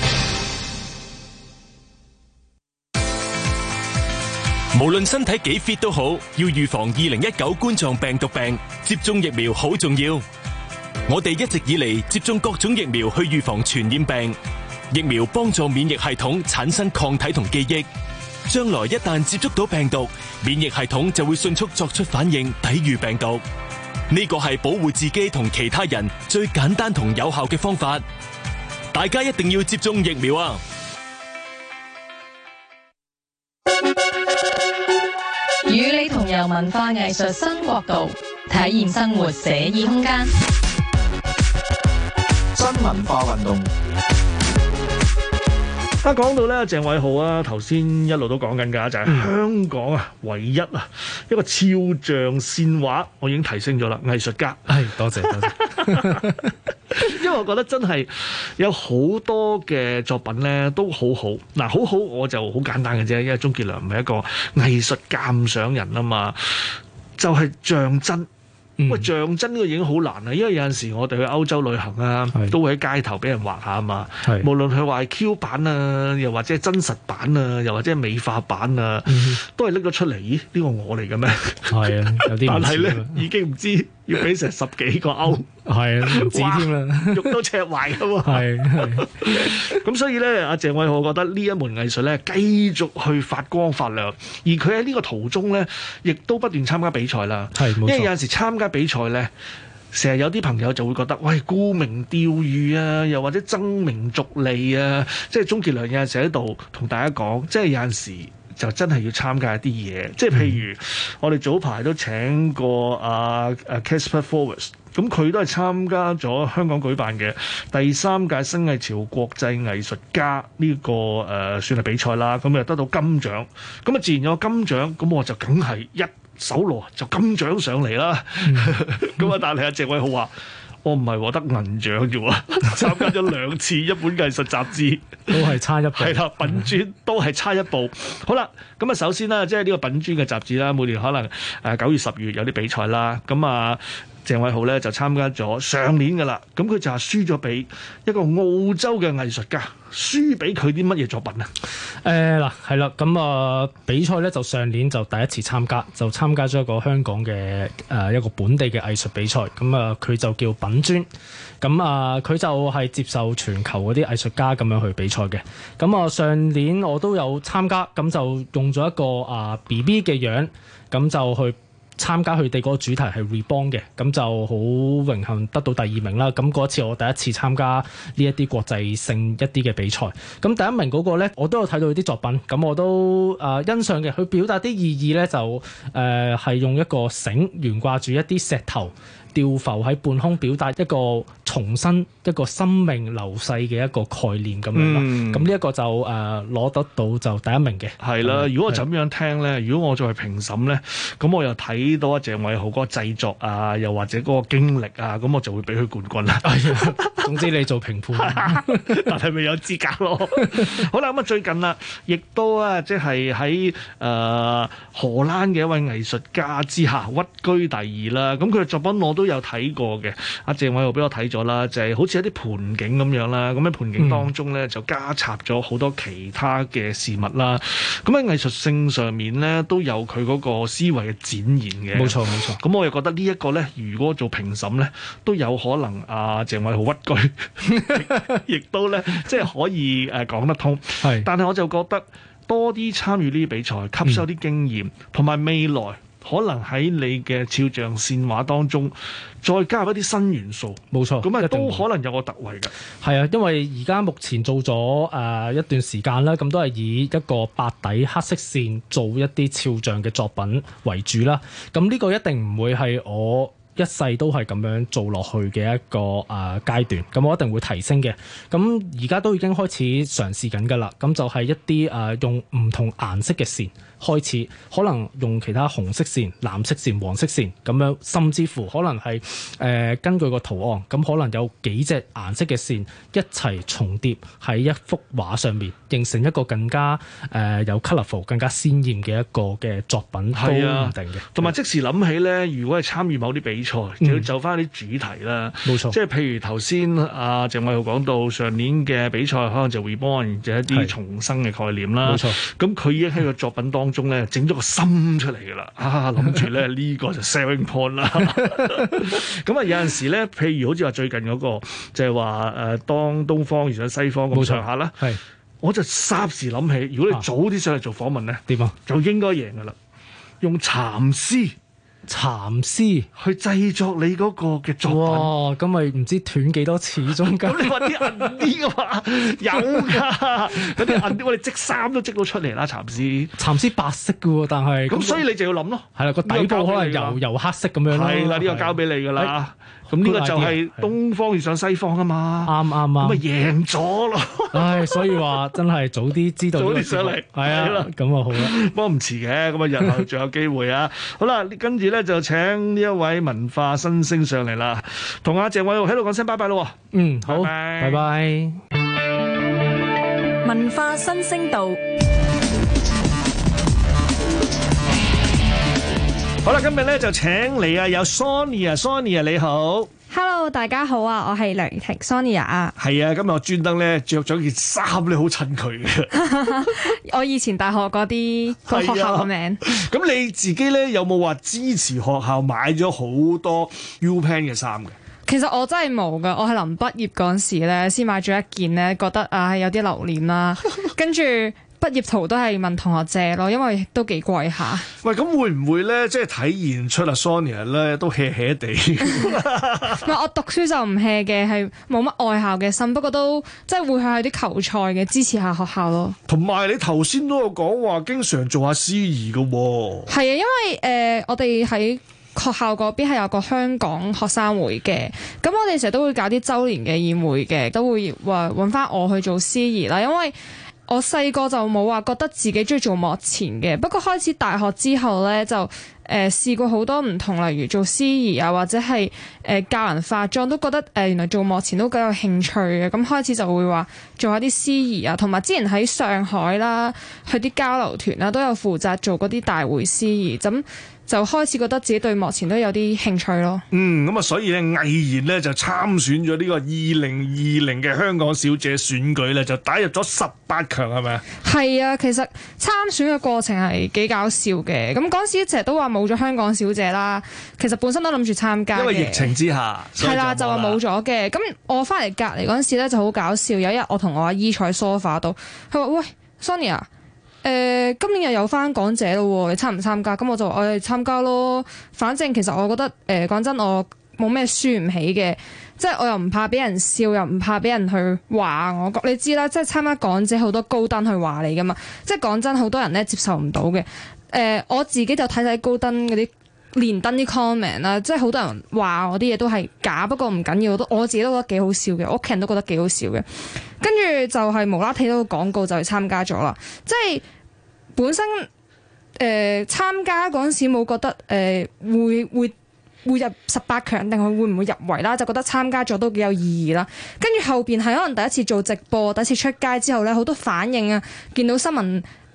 無論身體幾 fit 都好，要預防2019冠狀病毒病，接種疫苗好重要。我哋一直以嚟接種各種疫苗去預防傳染病，疫苗幫助免疫系統產生抗體同記憶。將來一旦接觸到病毒，免疫系統就會迅速作出反應，抵禦病毒。呢個係保護自己同其他人最簡單同有效嘅方法。大家一定要接種疫苗啊！ 與你同遊文化藝術新國度，體驗生活寫意空間。 新文化運動。 講到咧，鄭偉豪啊，頭先一路都講緊㗎，就係香港啊，唯一啊一個肖像線畫，我已經提升咗啦，藝術家。 係，多謝多謝。 因為我覺得真係有好多嘅作品咧都好好。嗱，好好我就好簡單嘅啫，因為鍾傑良唔係一個藝術鑑賞人啊嘛，就係像真。喂，像真呢個已經好難啦，因為有陣時我哋去歐洲旅行啊，都會喺街頭俾人畫下啊嘛。無論佢話係 Q 版啊，又或者係真實版啊，又或者係美化版啊，都係拎咗出嚟。咦？呢個我嚟嘅咩？係啊，有啲但係咧已經唔知要俾成10幾個歐。係啊，唔止添啦，肉都赤壞㗎嘛。係。咁所以咧，阿鄭偉豪覺得呢一門藝術咧，繼續去發光發亮，而佢喺呢個途中咧，亦都不斷參加比賽啦。係，冇錯。因為有陣時參加比賽咧，成日有啲朋友就會覺得，喂，沽名釣譽啊，又或者爭名逐利啊，即係鍾傑良有陣時喺度同大家講，即係有陣時就真係要參加一啲嘢，即係譬如我哋早排都請過阿 Caspar Forbes。咁佢都係參加咗香港舉辦嘅第3屆新藝潮國際藝術家呢個算係比賽啦，咁又得到金獎，咁啊自然有金獎，咁我就梗係一手攞就金獎上嚟啦。咁啊，但係阿鄭偉豪話：我唔係獲得銀獎啫喎，參加咗2次一本藝術雜誌，都係差一步。係啦，品專都係差一步。好啦，咁啊首先啦，即係呢個品專嘅雜誌啦，每年可能9月10月有啲比賽啦，咁啊。鄭偉豪咧就參加咗上年㗎啦，咁佢就係輸咗俾一個澳洲嘅藝術家，輸俾佢啲乜嘢作品啊？ 嗱係啦，咁比賽咧就上年就第一次參加，就參加咗一個香港嘅一個本地嘅藝術比賽，咁佢就叫品專，咁佢就係接受全球嗰啲藝術家咁樣去比賽嘅，咁上年我都有參加，咁就用咗一個BB 嘅樣，咁就去參加佢哋嗰個主題係 Reborn 嘅，咁就好榮幸得到第2名啦。咁嗰次我第一次參加呢一啲國際性一啲嘅比賽，咁第1名嗰個咧，我都有睇到佢啲作品，咁我都欣賞嘅。佢表達啲意義咧，就係用一個繩懸掛住一啲石頭，吊浮喺半空，表達一個重生一個生命流逝嘅一個概念咁樣啦。咁呢一個就攞得到就第1名嘅。係啦，如果我就咁樣聽咧，如果我再係評審咧，咁我又睇到阿鄭偉豪嗰個製作啊，又或者嗰個經歷啊，咁我就會俾佢冠軍啦。總之你做評判，但係未有資格咯。好啦，咁啊最近啦，亦都啊即係喺荷蘭嘅一位藝術家之下屈居第2啦。咁佢嘅作品我都有睇過嘅，阿鄭偉豪俾我睇咗咗啦，就係好似一啲盆景咁樣啦。咁喺盆景當中咧就加插咗好多其他嘅事物啦。咁喺藝術性上面咧都有佢嗰個思維嘅展現嘅。 冇錯冇錯。 咁我又覺得呢一個咧，如果做評審咧，都有可能阿鄭偉豪屈居，亦都咧即係可以講得通。係，但係我就覺得多啲參與呢啲比賽，吸收啲經驗，同埋未來可能喺你嘅肖像線畫當中，再加入一啲新元素。 冇錯， 咁都可能有個突圍嘅。 係啊，因為而家目前做咗一段時間啦，咁都係以一個白底黑色線做一啲肖像嘅作品為主啦。咁呢個一定唔會係我一世都係咁樣做落去嘅一個階段，咁我一定會提升嘅。咁而家都已經開始嘗試緊㗎啦。咁就係一啲用唔同顏色嘅線開始，可能用其他紅色線、藍色線、黃色線咁樣，甚至乎可能係根據個圖案，咁可能有幾隻顏色嘅線一齊重疊喺一幅畫上面，形成一個更加有 colourful、更加鮮豔嘅一個嘅作品，都唔定嘅。 同埋即時諗起咧，如果係參與某啲比賽，就要就翻啲主題啦。冇錯，即係譬如頭先阿鄭偉豪講到上年嘅比賽，可能就 reborn 就一啲重生嘅概念啦。冇錯，咁佢已經喺個作品當中咧整咗個心出嚟㗎啦。諗住咧呢個就 selling point 啦。咁有陣時咧，譬如好似話最近嗰個就係話當東方遇上西方咁上下啦。係，我就霎時諗起，如果你早啲上嚟做訪問咧，點啊？就應該贏㗎啦。用蠶絲去製作你嗰個嘅作品。 哇！咁咪唔知斷幾多次中間。 咁你話啲銀啲嘅話有㗎，嗰啲銀啲我哋織衫都織到出嚟啦。蠶絲白色嘅喎，但係咁所以你就要諗咯。係啦， 個底部可能油黑色咁樣咯。 係啦，呢個交俾你㗎啦。咁呢個就係東方遇上西方啊嘛。啱，咁咪贏咗咯。 唉，所以話真係早啲知道，早啲上嚟。係啊，咁啊好啦。 不過唔遲嘅，咁日後仲有機會啊。好啦，跟住咧就請呢一位文化新星上嚟啦，同阿鄭偉豪喺度講聲拜拜咯。 好，拜拜。 文化新星道。 好啦，今日咧就請嚟有 Sonia 你好。 Hello， 大家好啊，我係梁婷 Sonia 啊。 係啊，今日我專登咧着咗件衫咧，好襯佢嘅。 我以前大學嗰啲個學校個名。 咁你自己咧有冇話支持學校買咗好多 U-Pen 嘅衫嘅？ 其實我真係冇噶，我係臨畢業嗰陣時咧先買咗一件咧，覺得有啲留念啦，跟住。畢業圖都係問同學借咯，因為都幾貴下。 喂，咁會唔會咧，即係體現出Sonia 咧都 hea 地？唔係，我讀書就唔 hea 嘅，係冇乜愛校嘅心，不過都即係會去啲球賽嘅，支持下學校咯。 同埋你頭先都有講話，經常做下司儀㗎喎。 係啊，因為我哋喺學校嗰邊係有個香港學生會嘅，咁我哋成日都會搞啲週年嘅宴會嘅，都會話揾翻我去做司儀啦，因為我細個就冇話覺得自己中意做幕前嘅，不過開始大學之後呢，就試過好多唔同，例如做司儀啊，或者係教人化妝，都覺得原來做幕前都幾有興趣嘅，咁開始就會話做下啲司儀啊，同埋之前喺上海啦，去啲交流團啦，都有負責做嗰啲大會司儀，咁就開始覺得自己對幕前都有啲興趣咯。 咁啊，所以咧毅然咧就參選咗呢個2020嘅香港小姐選舉咧，就打入咗18強，係咪啊？係啊，其實參選嘅過程係幾搞笑嘅。咁嗰時成日都話冇咗香港小姐啦，其實本身都諗住參加嘅，因為疫情之下係啦，就話冇咗嘅。咁我翻嚟隔離嗰陣時咧就好搞笑，有一日我同我阿姨坐喺 sofa 度，佢話：喂 Sonia，今年又有翻港姐咯，你參唔參加？咁我就話我哋參加咯。反正其實我覺得講真，我冇咩輸唔起嘅，即係我又唔怕俾人笑，又唔怕俾人去話我。你知啦，即係參加港姐好多高登去話你噶嘛。即係講真，好多人咧接受唔到嘅。我自己就睇高登嗰啲連登啲 comment 啦，即係好多人話我啲嘢都係假，不過唔緊要，我自己都覺得幾好笑嘅，我屋企人都覺得幾好笑嘅。跟住就係無啦睇到個廣告就去參加咗啦。即係本身參加嗰陣時冇覺得會入18強定係會唔會入圍啦，就覺得參加咗都幾有意義啦。跟住後邊係可能第一次做直播，第一次出街之後咧，好多反應啊，見到新聞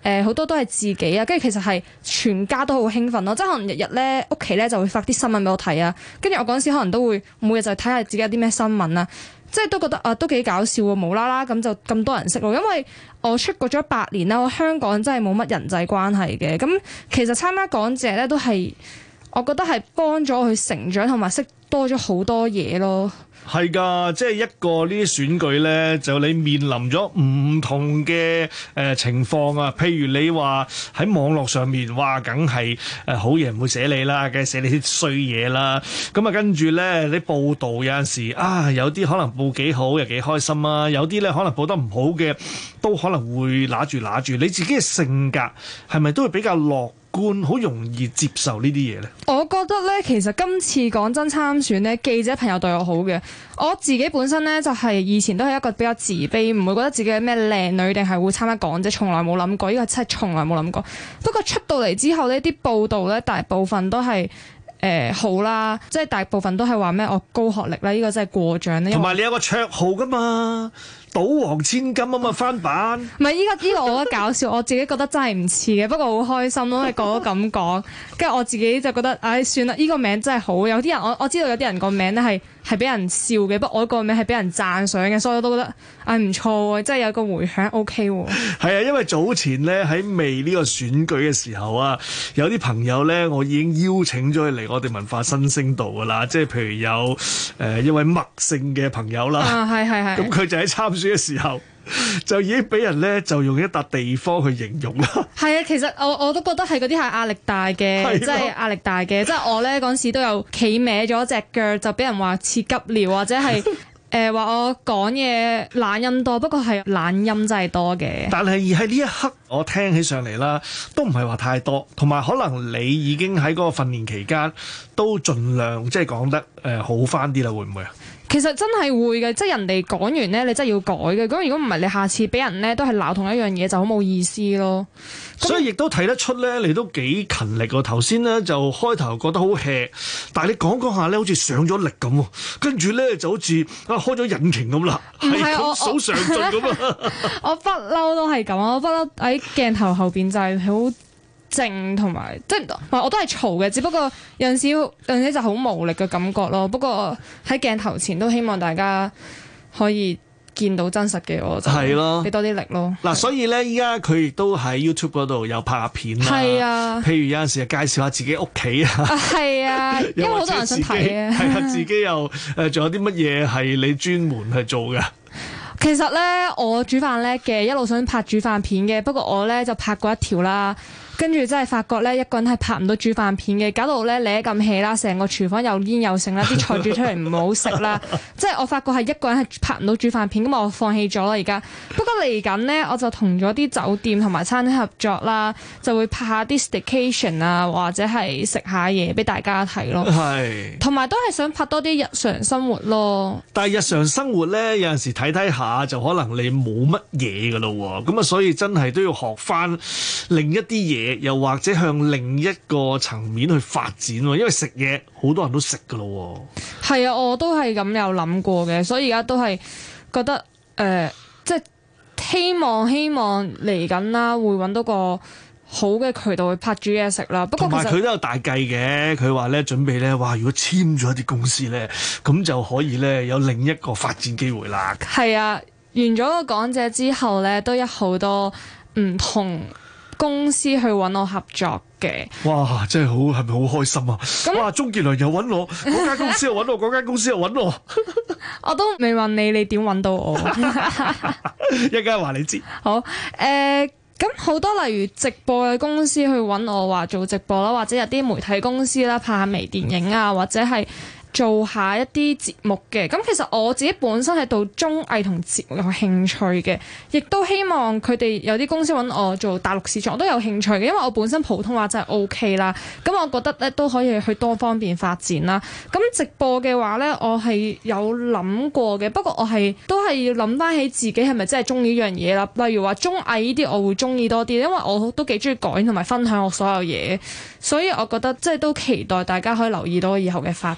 好多都係自己啊，跟住其實係全家都好興奮咯，即係可能日日咧屋企咧就會發啲新聞俾我睇啊，跟住我嗰陣時可能都會每日就睇下自己有啲咩新聞啊，即係都覺得啊都幾搞笑喎，無啦啦咁就咁多人識咯，因為我出國咗8年啦，我香港真係冇乜人際關係嘅，咁其實參加港姐咧都係我覺得係幫咗我去成長同埋識多咗好多嘢咯。 係㗎，即係一個呢啲選舉呢，就你面臨咗唔同嘅情況啊。譬如你話喺網絡上面，哇，梗係好嘢唔會寫你啦，梗係寫你啲衰嘢啦。咁啊，跟住呢，你報道有陣時啊，有啲可能報幾好又幾開心啊，有啲呢可能報得唔好嘅，都可能會揦住。你自己嘅性格係咪都會比較樂觀，好容易接受呢啲嘢呢？ 我覺得咧，其實今次講真參選咧，記者朋友對我好嘅。我自己本身咧就係以前都係一個比較自卑，唔會覺得自己係咩靚女定係會參加港姐，從來冇諗過。呢個真係從來冇諗過。不過出到嚟之後呢啲報道咧大部分都係好啦，即係大部分都係話咩我高學歷啦，呢個真係過獎咧。同埋你有個綽號㗎嘛？賭王千金啊嘛，翻版。 唔係，依個我覺得搞笑，我自己覺得真係唔似嘅，不過好開心咯，因為個個咁講，跟住我自己就覺得，唉，算啦，呢個名真係好。有啲人我知道有啲人個名咧係俾人笑嘅，不過我個名係俾人讚賞嘅，所以我都覺得唉唔錯喎，真係有個迴響 OK 喎。係啊，因為早前咧喺未呢個選舉嘅時候啊，有啲朋友咧我已經邀請咗佢嚟我哋文化新星度噶啦，即係譬如有一位麥姓嘅朋友啦， 係， 咁佢就喺參選嘅時候就已經俾人咧就用一笪地方去形容啦。係啊，其實我都覺得係嗰啲係壓力大嘅，即係壓力大嘅。即係我咧嗰陣時都有企歪咗隻腳，就俾人話似急尿，或者係話我講嘢懶音多，不過係懶音真係多嘅。但係喺呢一刻，我聽起上嚟啦，都唔係話太多，同埋可能你已經喺嗰個訓練期間都盡量即係講得好翻啲啦，會唔會啊？ 其實真係會嘅，即係人哋講完咧，你真係要改嘅。咁如果唔係，你下次俾人咧都係鬧同一樣嘢，就好冇意思咯。 所以亦都睇得出咧，你都幾勤力喎。頭先咧就開頭覺得好 hea，但係你講下咧，好似上咗力咁喎。跟住咧就好似開咗引擎咁啦，係咁數上進咁啊！ 我不嬲都係咁啊！我不嬲喺鏡頭後邊就係好靜同埋，即係我都係嘈嘅，只不過有陣時就好無力嘅感覺咯。不過喺鏡頭前都希望大家可以見到真實嘅我，就係咯，俾多啲力咯。嗱， 所以咧，依家佢亦都喺 YouTube 嗰度有拍下片啦。 係啊， 譬如有陣時介紹下自己屋企啊。 係啊，因為好多人想睇啊。 係啊，自己又仲有啲乜嘢係你專門去做嘅？ 其實咧，我煮飯叻嘅，一路想拍煮飯片嘅，不過我咧就拍過一條啦。跟住真係發覺咧，一個人係拍唔到煮飯片嘅，搞到咧你咁氣啦，成個廚房又煙又剩啦，啲菜煮出嚟唔好食啦。即係我發覺係一個人係拍唔到煮飯片，咁我放棄咗啦而家。不過嚟緊呢，我就同咗啲酒店同埋餐廳合作啦，就會拍下啲 staycation 啊，或者係食下嘢俾大家睇咯。係，同埋都係想拍多啲日常生活咯。但係日常生活咧，有陣時睇下就可能你冇乜嘢噶咯喎，咁啊所以真係都要學翻另一啲嘢。又或者向另一個層面去發展喎，因為食嘢好多人都食噶咯喎。係啊，我都係咁有諗過嘅，所以而家都係覺得即係希望嚟緊啦，會揾到個好嘅渠道去拍煮嘢食啦。不過同埋佢都有大計嘅，佢話咧準備咧，哇！如果簽咗一啲公司咧，咁就可以咧有另一個發展機會啦。係啊，完咗個港姐之後咧，都有好多唔同公司去揾我合作嘅。哇！真係好，係咪好開心啊？哇！鍾傑良又揾我，嗰間公司又揾我，嗰間公司又揾我。我都未問你點揾到我？一陣間話你知。好，咁好多例如直播嘅公司去揾我話做直播啦，或者有啲媒體公司啦，拍下微電影啊，或者係做下一啲節目嘅。咁其實我自己本身係對綜藝同節目有興趣嘅，亦都希望佢哋有啲公司揾我做大陸市場，我都有興趣嘅，因為我本身普通話真係 OK 啦。咁我覺得咧都可以去多方面發展啦。咁直播嘅話咧，我係有諗過嘅，不過我都係要諗翻起自己係咪真係中意呢樣嘢啦。例如話綜藝呢啲，我會中意多啲，因為我都幾中意講同埋分享我所有嘢，所以我覺得即係都期待大家可以留意到以後嘅發展咯。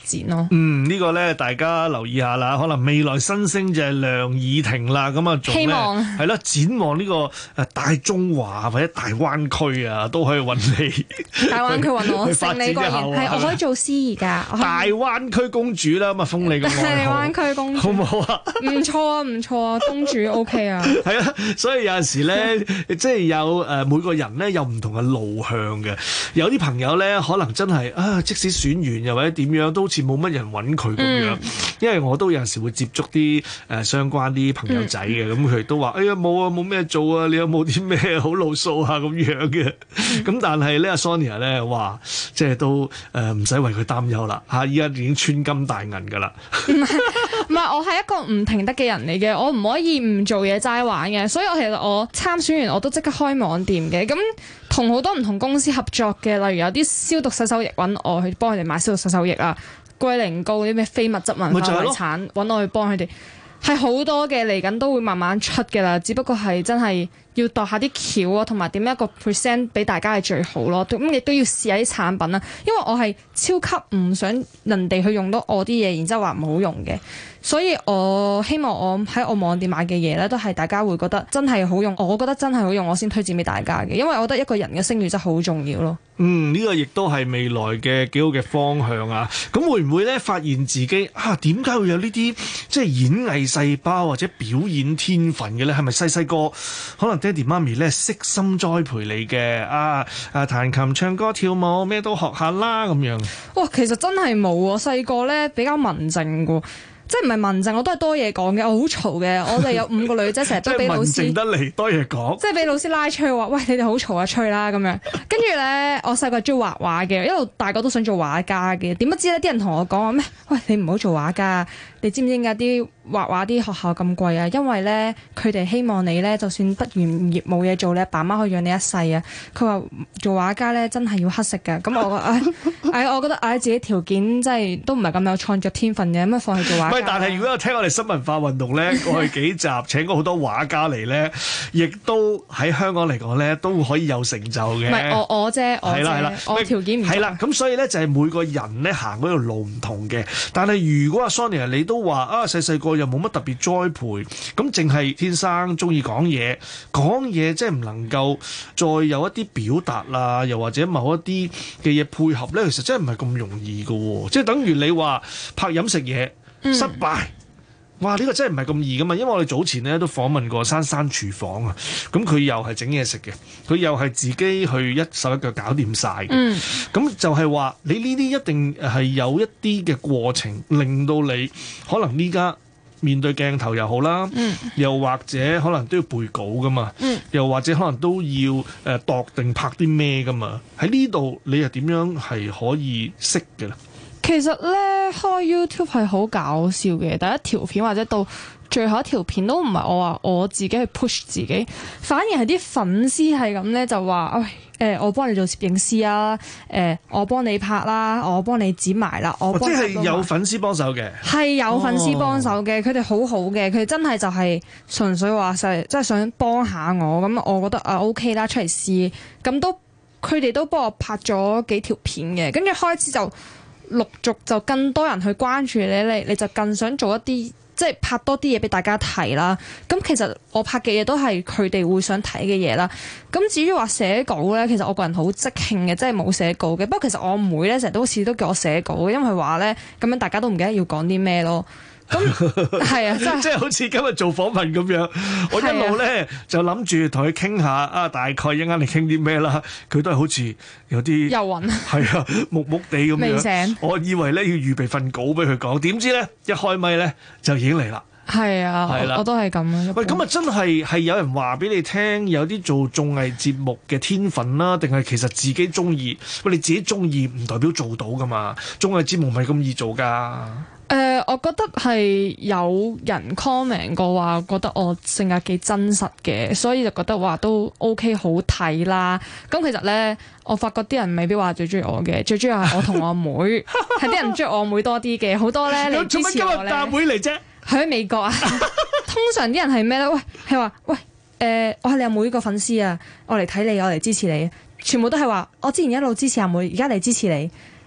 呢個咧大家留意下啦，可能未來新星就係梁以婷啦，咁啊仲咧係啦，展望呢個大中華或者大灣區啊，都可以揾你。 大灣區揾我， 發展一下係我可以做司儀㗎。 大灣區公主啦，咁啊封你個愛好。 大灣區公主好唔好啊？ 唔錯啊，公主 OK 啊。 係啊，所以有陣時咧，即係有每個人咧有唔同嘅路向嘅。有啲朋友咧可能真係即使選完又或者點樣，都好似冇乜人揾佢咁樣。因為我都有陣時會接觸啲相關啲朋友仔嘅，咁佢都話：哎呀冇啊，冇咩做啊，你有冇啲咩好路數啊咁樣嘅？咁但係咧，阿 Sonia 咧話，即係都唔使為佢擔憂啦嚇，依家已經穿金戴銀㗎啦。 唔係，我係一個唔停得嘅人嚟嘅，我唔可以唔做嘢齋玩嘅，所以其實我參選完我都即刻開網店嘅，咁同好多唔同公司合作嘅，例如有啲消毒洗手液揾我去幫佢哋買消毒洗手液啊，龜苓膏啲咩非物質文化遺產揾我去幫佢哋，係好多嘅，嚟緊都會慢慢出嘅啦，只不過係真係要度下啲橋啊，同埋點樣一個 present 俾大家係最好咯。咁亦都要試下啲產品啦，因為我係超級唔想人哋去用到我啲嘢，然之後話唔好用嘅。所以我希望我喺我網店買嘅嘢咧，都係大家會覺得真係好用，我覺得真係好用，我先推薦俾大家嘅。因為我覺得一個人嘅聲譽真係好重要咯。 呢個亦都係未來嘅幾好嘅方向啊！咁會唔會咧發現自己點解會有呢啲即係演藝細胞或者表演天分嘅咧？係咪細細個可能爹哋媽咪咧悉心栽培你嘅彈琴、唱歌、跳舞咩都學下啦咁樣？ 哇，其實真係冇喎，細個咧比較文靜㗎。即係唔係文靜，我都係多嘢講嘅，我好嘈嘅。我哋有5個女仔，成日都俾老師即係文靜得嚟多嘢講， 即係俾老師拉出去話：喂，你哋好嘈啊，吹啦咁樣。跟住咧，我細個中意畫畫嘅，一路大個都想做畫家嘅。點不知咧，啲人同我講話咩？喂，你唔好做畫家，你知唔知點解啲畫畫啲學校咁貴啊？因為咧，佢哋希望你咧，就算畢完業冇嘢做，你阿爸媽可以養你一世啊。佢話做畫家咧，真係要乞食㗎。咁我覺得自己條件真係都唔係咁有創作天分嘅，咁啊放棄做畫家。 但係如果有聽我哋新文化運動咧，過去幾集請過好多畫家嚟咧，亦都喺香港嚟講咧，都可以有成就嘅。 唔係我啫，我條件唔係啦。咁所以咧就係每個人咧行嗰條路唔同嘅。但係如果阿 Sonia 你都話細個又冇乜特別栽培，咁淨係天生中意講嘢即係唔能夠再有一啲表達啦，又或者某一啲嘅嘢配合咧，其實真係唔係咁容易㗎喎。即係等於你話拍飲食嘢。失敗，哇！呢個真係唔係咁易噶嘛，因為我哋早前咧都訪問過珊珊廚房啊，咁佢又係整嘢食嘅，佢又係自己去一手一腳搞掂晒嘅，咁就係話你呢啲一定係有一啲嘅過程，令到你可能呢家面對鏡頭又好啦，又或者可能都要背稿噶嘛，又或者可能都要度定拍啲咩噶嘛，喺呢度你又點樣係可以識嘅咧？ 其實咧開 YouTube 係好搞笑嘅，第一條片或者到最後一條片都唔係我話我自己去 push 自己，反而係啲粉絲係咁咧就話，我幫你做攝影師啊，我幫你拍啦，我幫你剪埋啦，我幫你即係有粉絲幫手嘅， 係有粉絲幫手嘅，佢哋好好嘅，佢哋真係就係純粹話即係想幫下我，咁我覺得OK 啦，出嚟試，咁都佢哋都幫我拍咗幾條片嘅，跟住開始就陸續就更多人去關注你就更想做一啲即係拍多啲嘢俾大家睇啦。咁其實我拍嘅嘢都係佢哋會想睇嘅嘢啦。咁至於話寫稿咧，其實我個人好即興嘅，即係冇寫稿嘅。不過其實我妹咧成日都好似都叫我寫稿嘅，因為話咧咁樣大家都唔記得要講啲咩咯。咁係啊，即係好似今日做訪問咁樣，我一路咧就諗住同佢傾下大概一陣間你傾啲咩啦。佢都係好似有啲遊魂， 係啊，木木地咁樣。 未醒， 我以為咧要預備份稿俾佢講，點知咧一開咪咧就已經嚟啦。 係啊，我都係咁啊。 喂，咁啊真係有人話俾你聽，有啲做綜藝節目嘅天分啦，定係其實自己中意？喂，你自己中意唔代表做到噶嘛？綜藝節目唔係咁易做噶。 我覺得係有人 comment 過話，覺得我性格幾真實嘅，所以就覺得話都 OK 好睇啦。咁其實咧，我發覺啲人未必話最中意我嘅，最中意係我同我妹，係啲人中意我妹多啲嘅。好多咧，你支持我咧。做乜今日大妹嚟啫？喺美國啊。通常啲人係咩咧？喂，係話喂，我係你阿妹個粉絲啊，我嚟睇你，我嚟支持你。全部都係話，我之前一路支持阿妹，而家嚟支持你。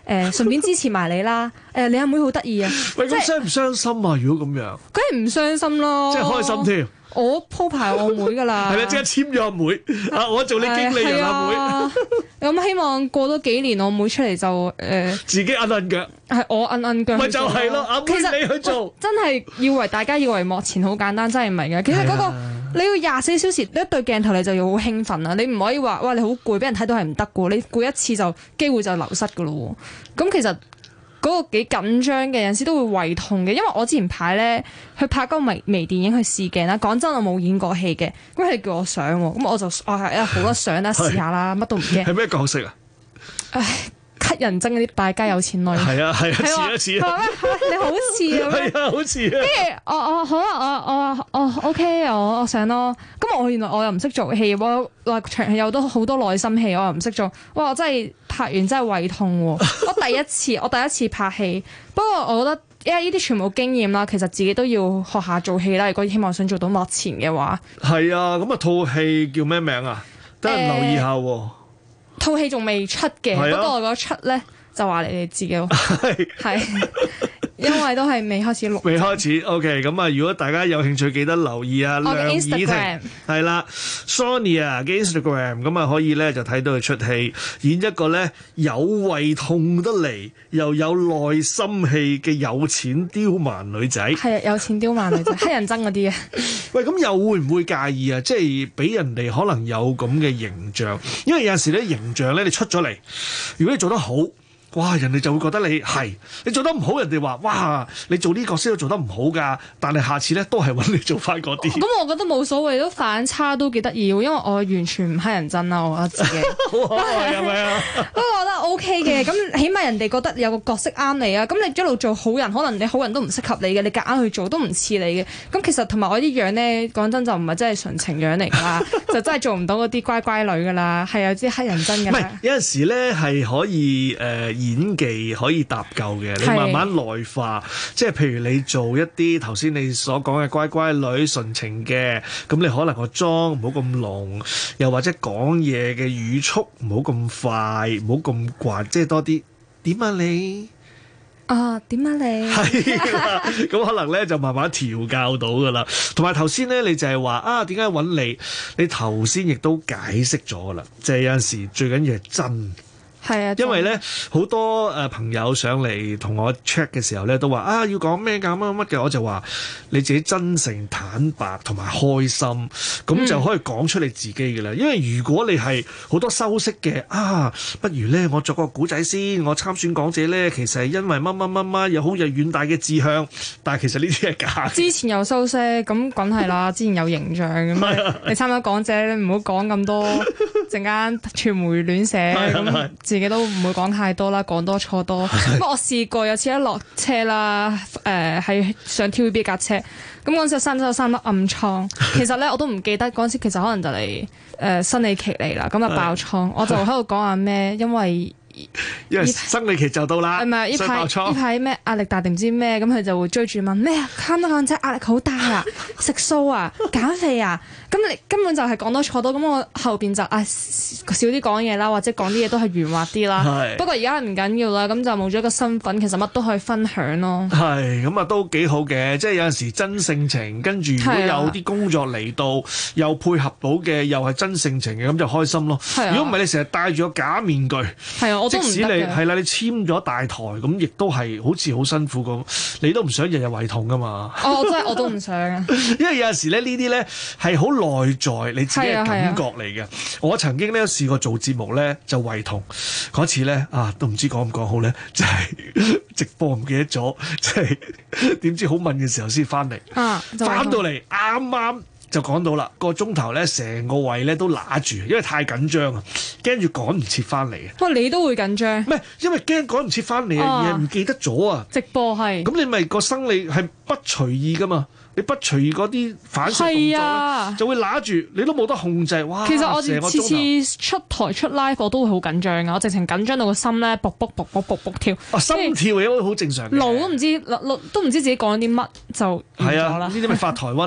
順便支持埋你啦。你阿妹好得意啊！ 喂，咁傷唔傷心啊？如果咁樣， 梗係唔傷心咯， 即係開心添。 我鋪排我妹噶啦， 係啦，即刻簽咗阿妹啊！我做你經理人阿妹。 咁希望過多幾年，我妹出嚟就自己摁腳， 係我摁腳。 咪就係咯，阿妹你去做， 真係大家以為幕前好簡單，真係唔係嘅。其實嗰個你要24小時一對鏡頭，你就要好興奮啦。你唔可以話哇你好攰，俾人睇到係唔得嘅。你攰一次就機會就流失嘅咯。咁其實嗰個幾緊張嘅，有陣時都會胃痛嘅。因為我之前排咧去拍嗰個微電影去試鏡啦。講真，我冇演過戲嘅，咁佢哋叫我上喎，咁我就係好多相啦，試下啦，乜都唔驚。 係咩角色啊？ 唉，乞人憎嗰啲敗家有錢女。係啊，似啊。 你好似啊。 係啊，好似啊。 跟住我好啊，我 OK，我上咯。咁我原來我又唔識做戲，我話場戲有好多內心戲，我又唔識做。哇！我真係拍完真係胃痛喎。我第一次拍戲，不過我覺得因為呢啲全部經驗啦，其實自己都要學下做戲啦。如果希望想做到幕前嘅話，係啊。咁啊，套戲叫咩名啊？等人留意下喎。 套戲仲未出嘅，不過我覺得出咧就話你哋知嘅，係因為都係未開始錄。 未開始 ，OK。咁啊，如果大家有興趣，記得留意啊。 我嘅 Instagram 係啦 ，Sonia 嘅 Instagram 咁啊，可以咧就睇到佢出戲，演一個咧有胃痛得嚟又有內心戲嘅有錢刁蠻女仔。 係啊，有錢刁蠻女仔，黑人憎嗰啲啊。 喂，咁又會唔會介意啊？即係俾人哋可能有咁嘅形象，因為有陣時咧形象咧你出咗嚟，如果你做得好，哇！人哋就會覺得你做得唔好，人哋話哇，你做呢個角色都做得唔好㗎，但係下次咧都係揾你做翻嗰啲。 咁我覺得冇所謂，都反差都幾得意喎，因為我完全唔黑人憎啦，我覺得自己。 好可愛係咪啊？ 不過我覺得 OK 嘅，咁起碼人哋覺得有個角色啱你啊。咁你一路做好人，可能你好人都唔適合你嘅，你夾硬去做都唔似你嘅。咁其實同埋我啲樣咧，講真就唔係真係純情樣嚟㗎啦，就真係做唔到嗰啲乖乖女㗎啦，係有啲黑人憎㗎。唔係有陣時咧係可以演技可以搭救嘅，你慢慢內化，即係譬如你做一啲頭先你所講嘅乖乖女純情嘅，咁你可能個妝唔好咁濃，又或者講嘢嘅語速唔好咁快，唔好咁慣，即係多啲點啊你點啊你係啦，咁可能咧就慢慢調教到噶啦。同埋頭先咧，你就係話點解揾你？你頭先亦都解釋咗噶啦，就係有陣時最緊要係真。 係啊， 因為咧好多朋友上嚟同我 check 嘅時候咧，都話要講咩㗎乜嘅，我就話你自己真誠坦白同埋開心，咁就可以講出你自己嘅啦。因為如果你係好多修飾嘅不如咧我作個古仔先，我參選港姐咧，其實係因為乜乜乜乜，有好有遠大嘅志向，但係其實呢啲係假。 之前有修飾，咁梗係啦，之前有形象咁你參加港姐，你唔好講咁多，陣間傳媒亂寫咁。自己都唔會講太多啦，講多錯多。不過我試過有次一落車啦，係上 TVB 架車，咁嗰陣時有3粒暗瘡。其實咧我都唔記得嗰陣時，其實可能就嚟生理期嚟啦，咁啊爆瘡，我就喺度講下咩，因為生理期就到啦， 唔係呢排咩壓力大定唔知咩，咁佢就會追住問咩啊，參加港姐壓力好大啊，食素啊，減肥啊。咁你根本就係講多錯多，咁我後邊就少啲講嘢啦，或者講啲嘢都係圓滑啲啦。不過而家唔緊要啦，咁就冇咗一個身份，其實乜都可以分享咯。係咁都幾好嘅，即係有陣時真性情，跟住如果有啲工作嚟到又配合到嘅，又係真性情嘅，咁就開心咯。如果唔係你成日戴住個假面具，我都唔得嘅。即使你係啦，你簽咗大台，咁亦都係好似好辛苦咁，你都唔想日日胃痛噶嘛？我都唔想啊。因為有陣時咧呢啲咧係好內在你自己嘅感覺嚟嘅。我曾經咧試過做節目咧就胃痛嗰次咧都唔知講唔講好咧，就係直播唔記得咗，即係點知好問嘅時候先翻嚟，翻到嚟啱啱就講到啦，個鐘頭咧成個胃咧都揦住，因為太緊張啊，驚住趕唔切翻嚟啊。你都會緊張？唔係，因為驚趕唔切翻嚟啊，而係唔記得咗啊。直播係咁，你咪個生理係不隨意噶嘛。你不隨意嗰啲反射動作咧，就會揦住，你都冇得控制。哇！其實我哋次次出台出 live 我都會好緊張噶，我直情緊張到個心咧，卜卜卜卜卜卜跳。心跳嘅好正常嘅。腦都唔知自己講啲乜就完咗啦。呢啲咪發台瘟咯。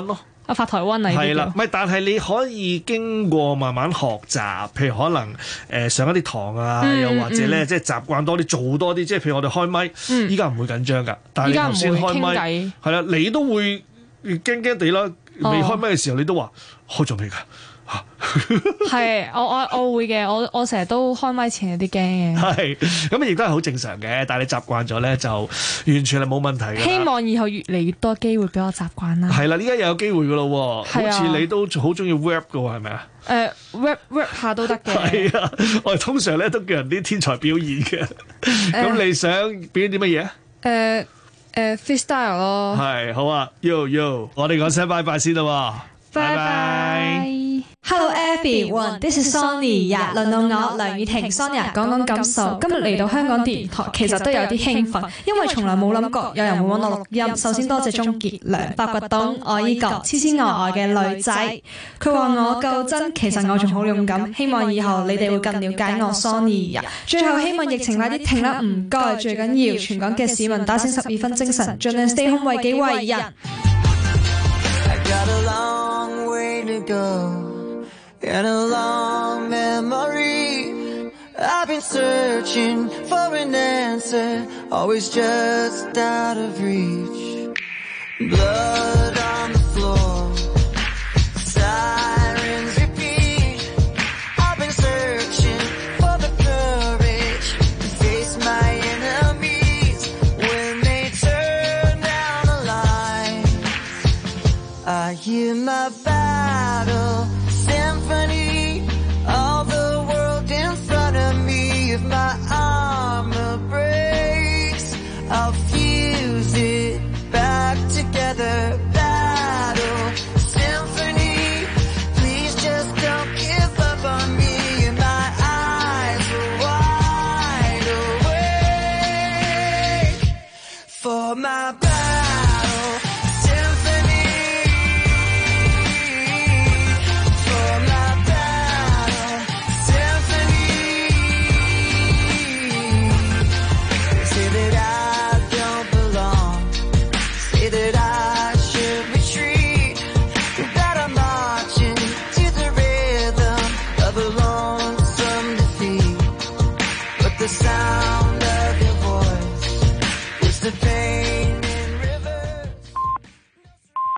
發台灣啊， 係啦，唔係，但係你可以經過慢慢學習，譬如可能上一啲堂啊，又或者咧即係習慣多啲，做多啲，即係譬如我哋開咪，依家唔會緊張㗎，但係你頭先開咪係啦，你都會驚驚地啦，未開咪嘅時候你都話開咗未㗎？ 係，我會嘅，我成日都開咪前有啲驚嘅。係， 咁亦都係好正常嘅，但係你習慣咗咧，就完全係冇問題嘅。 希望以後越嚟越多機會俾我習慣啦。係啦，依家又有機會㗎咯，好似你都好中意 rap 㗎喎，係咪啊 ？rap 下都得嘅。 係啊，我哋通常咧都叫人啲天才表演嘅。咁你想表演啲乜嘢 ？freestyle 咯。 係，好啊 ，yo， 我哋講聲拜拜先啦。拜拜。 Hello everyone, this is Sonia。輪到我梁雨婷 Sonia 講講感受。今日嚟到香港電台，其實都有啲興奮，因為從來冇諗過有人會揾我錄音。首先多謝鍾傑良發掘到我呢個痴痴呆呆嘅女仔。佢話我夠真，其實我仲好勇敢。希望以後你哋會更了解我 Sonia。最後希望疫情快啲停啦，唔該。最緊要全港嘅市民打醒12分精神，盡量 stay home 為己為人。 Got a long way to go and a long memory. I've been searching for an answer, always just out of reach. Blood on the floor, sirens repeat. I've been searching for the courage to face my enemies when they turn down the lights. I hear my battle symphony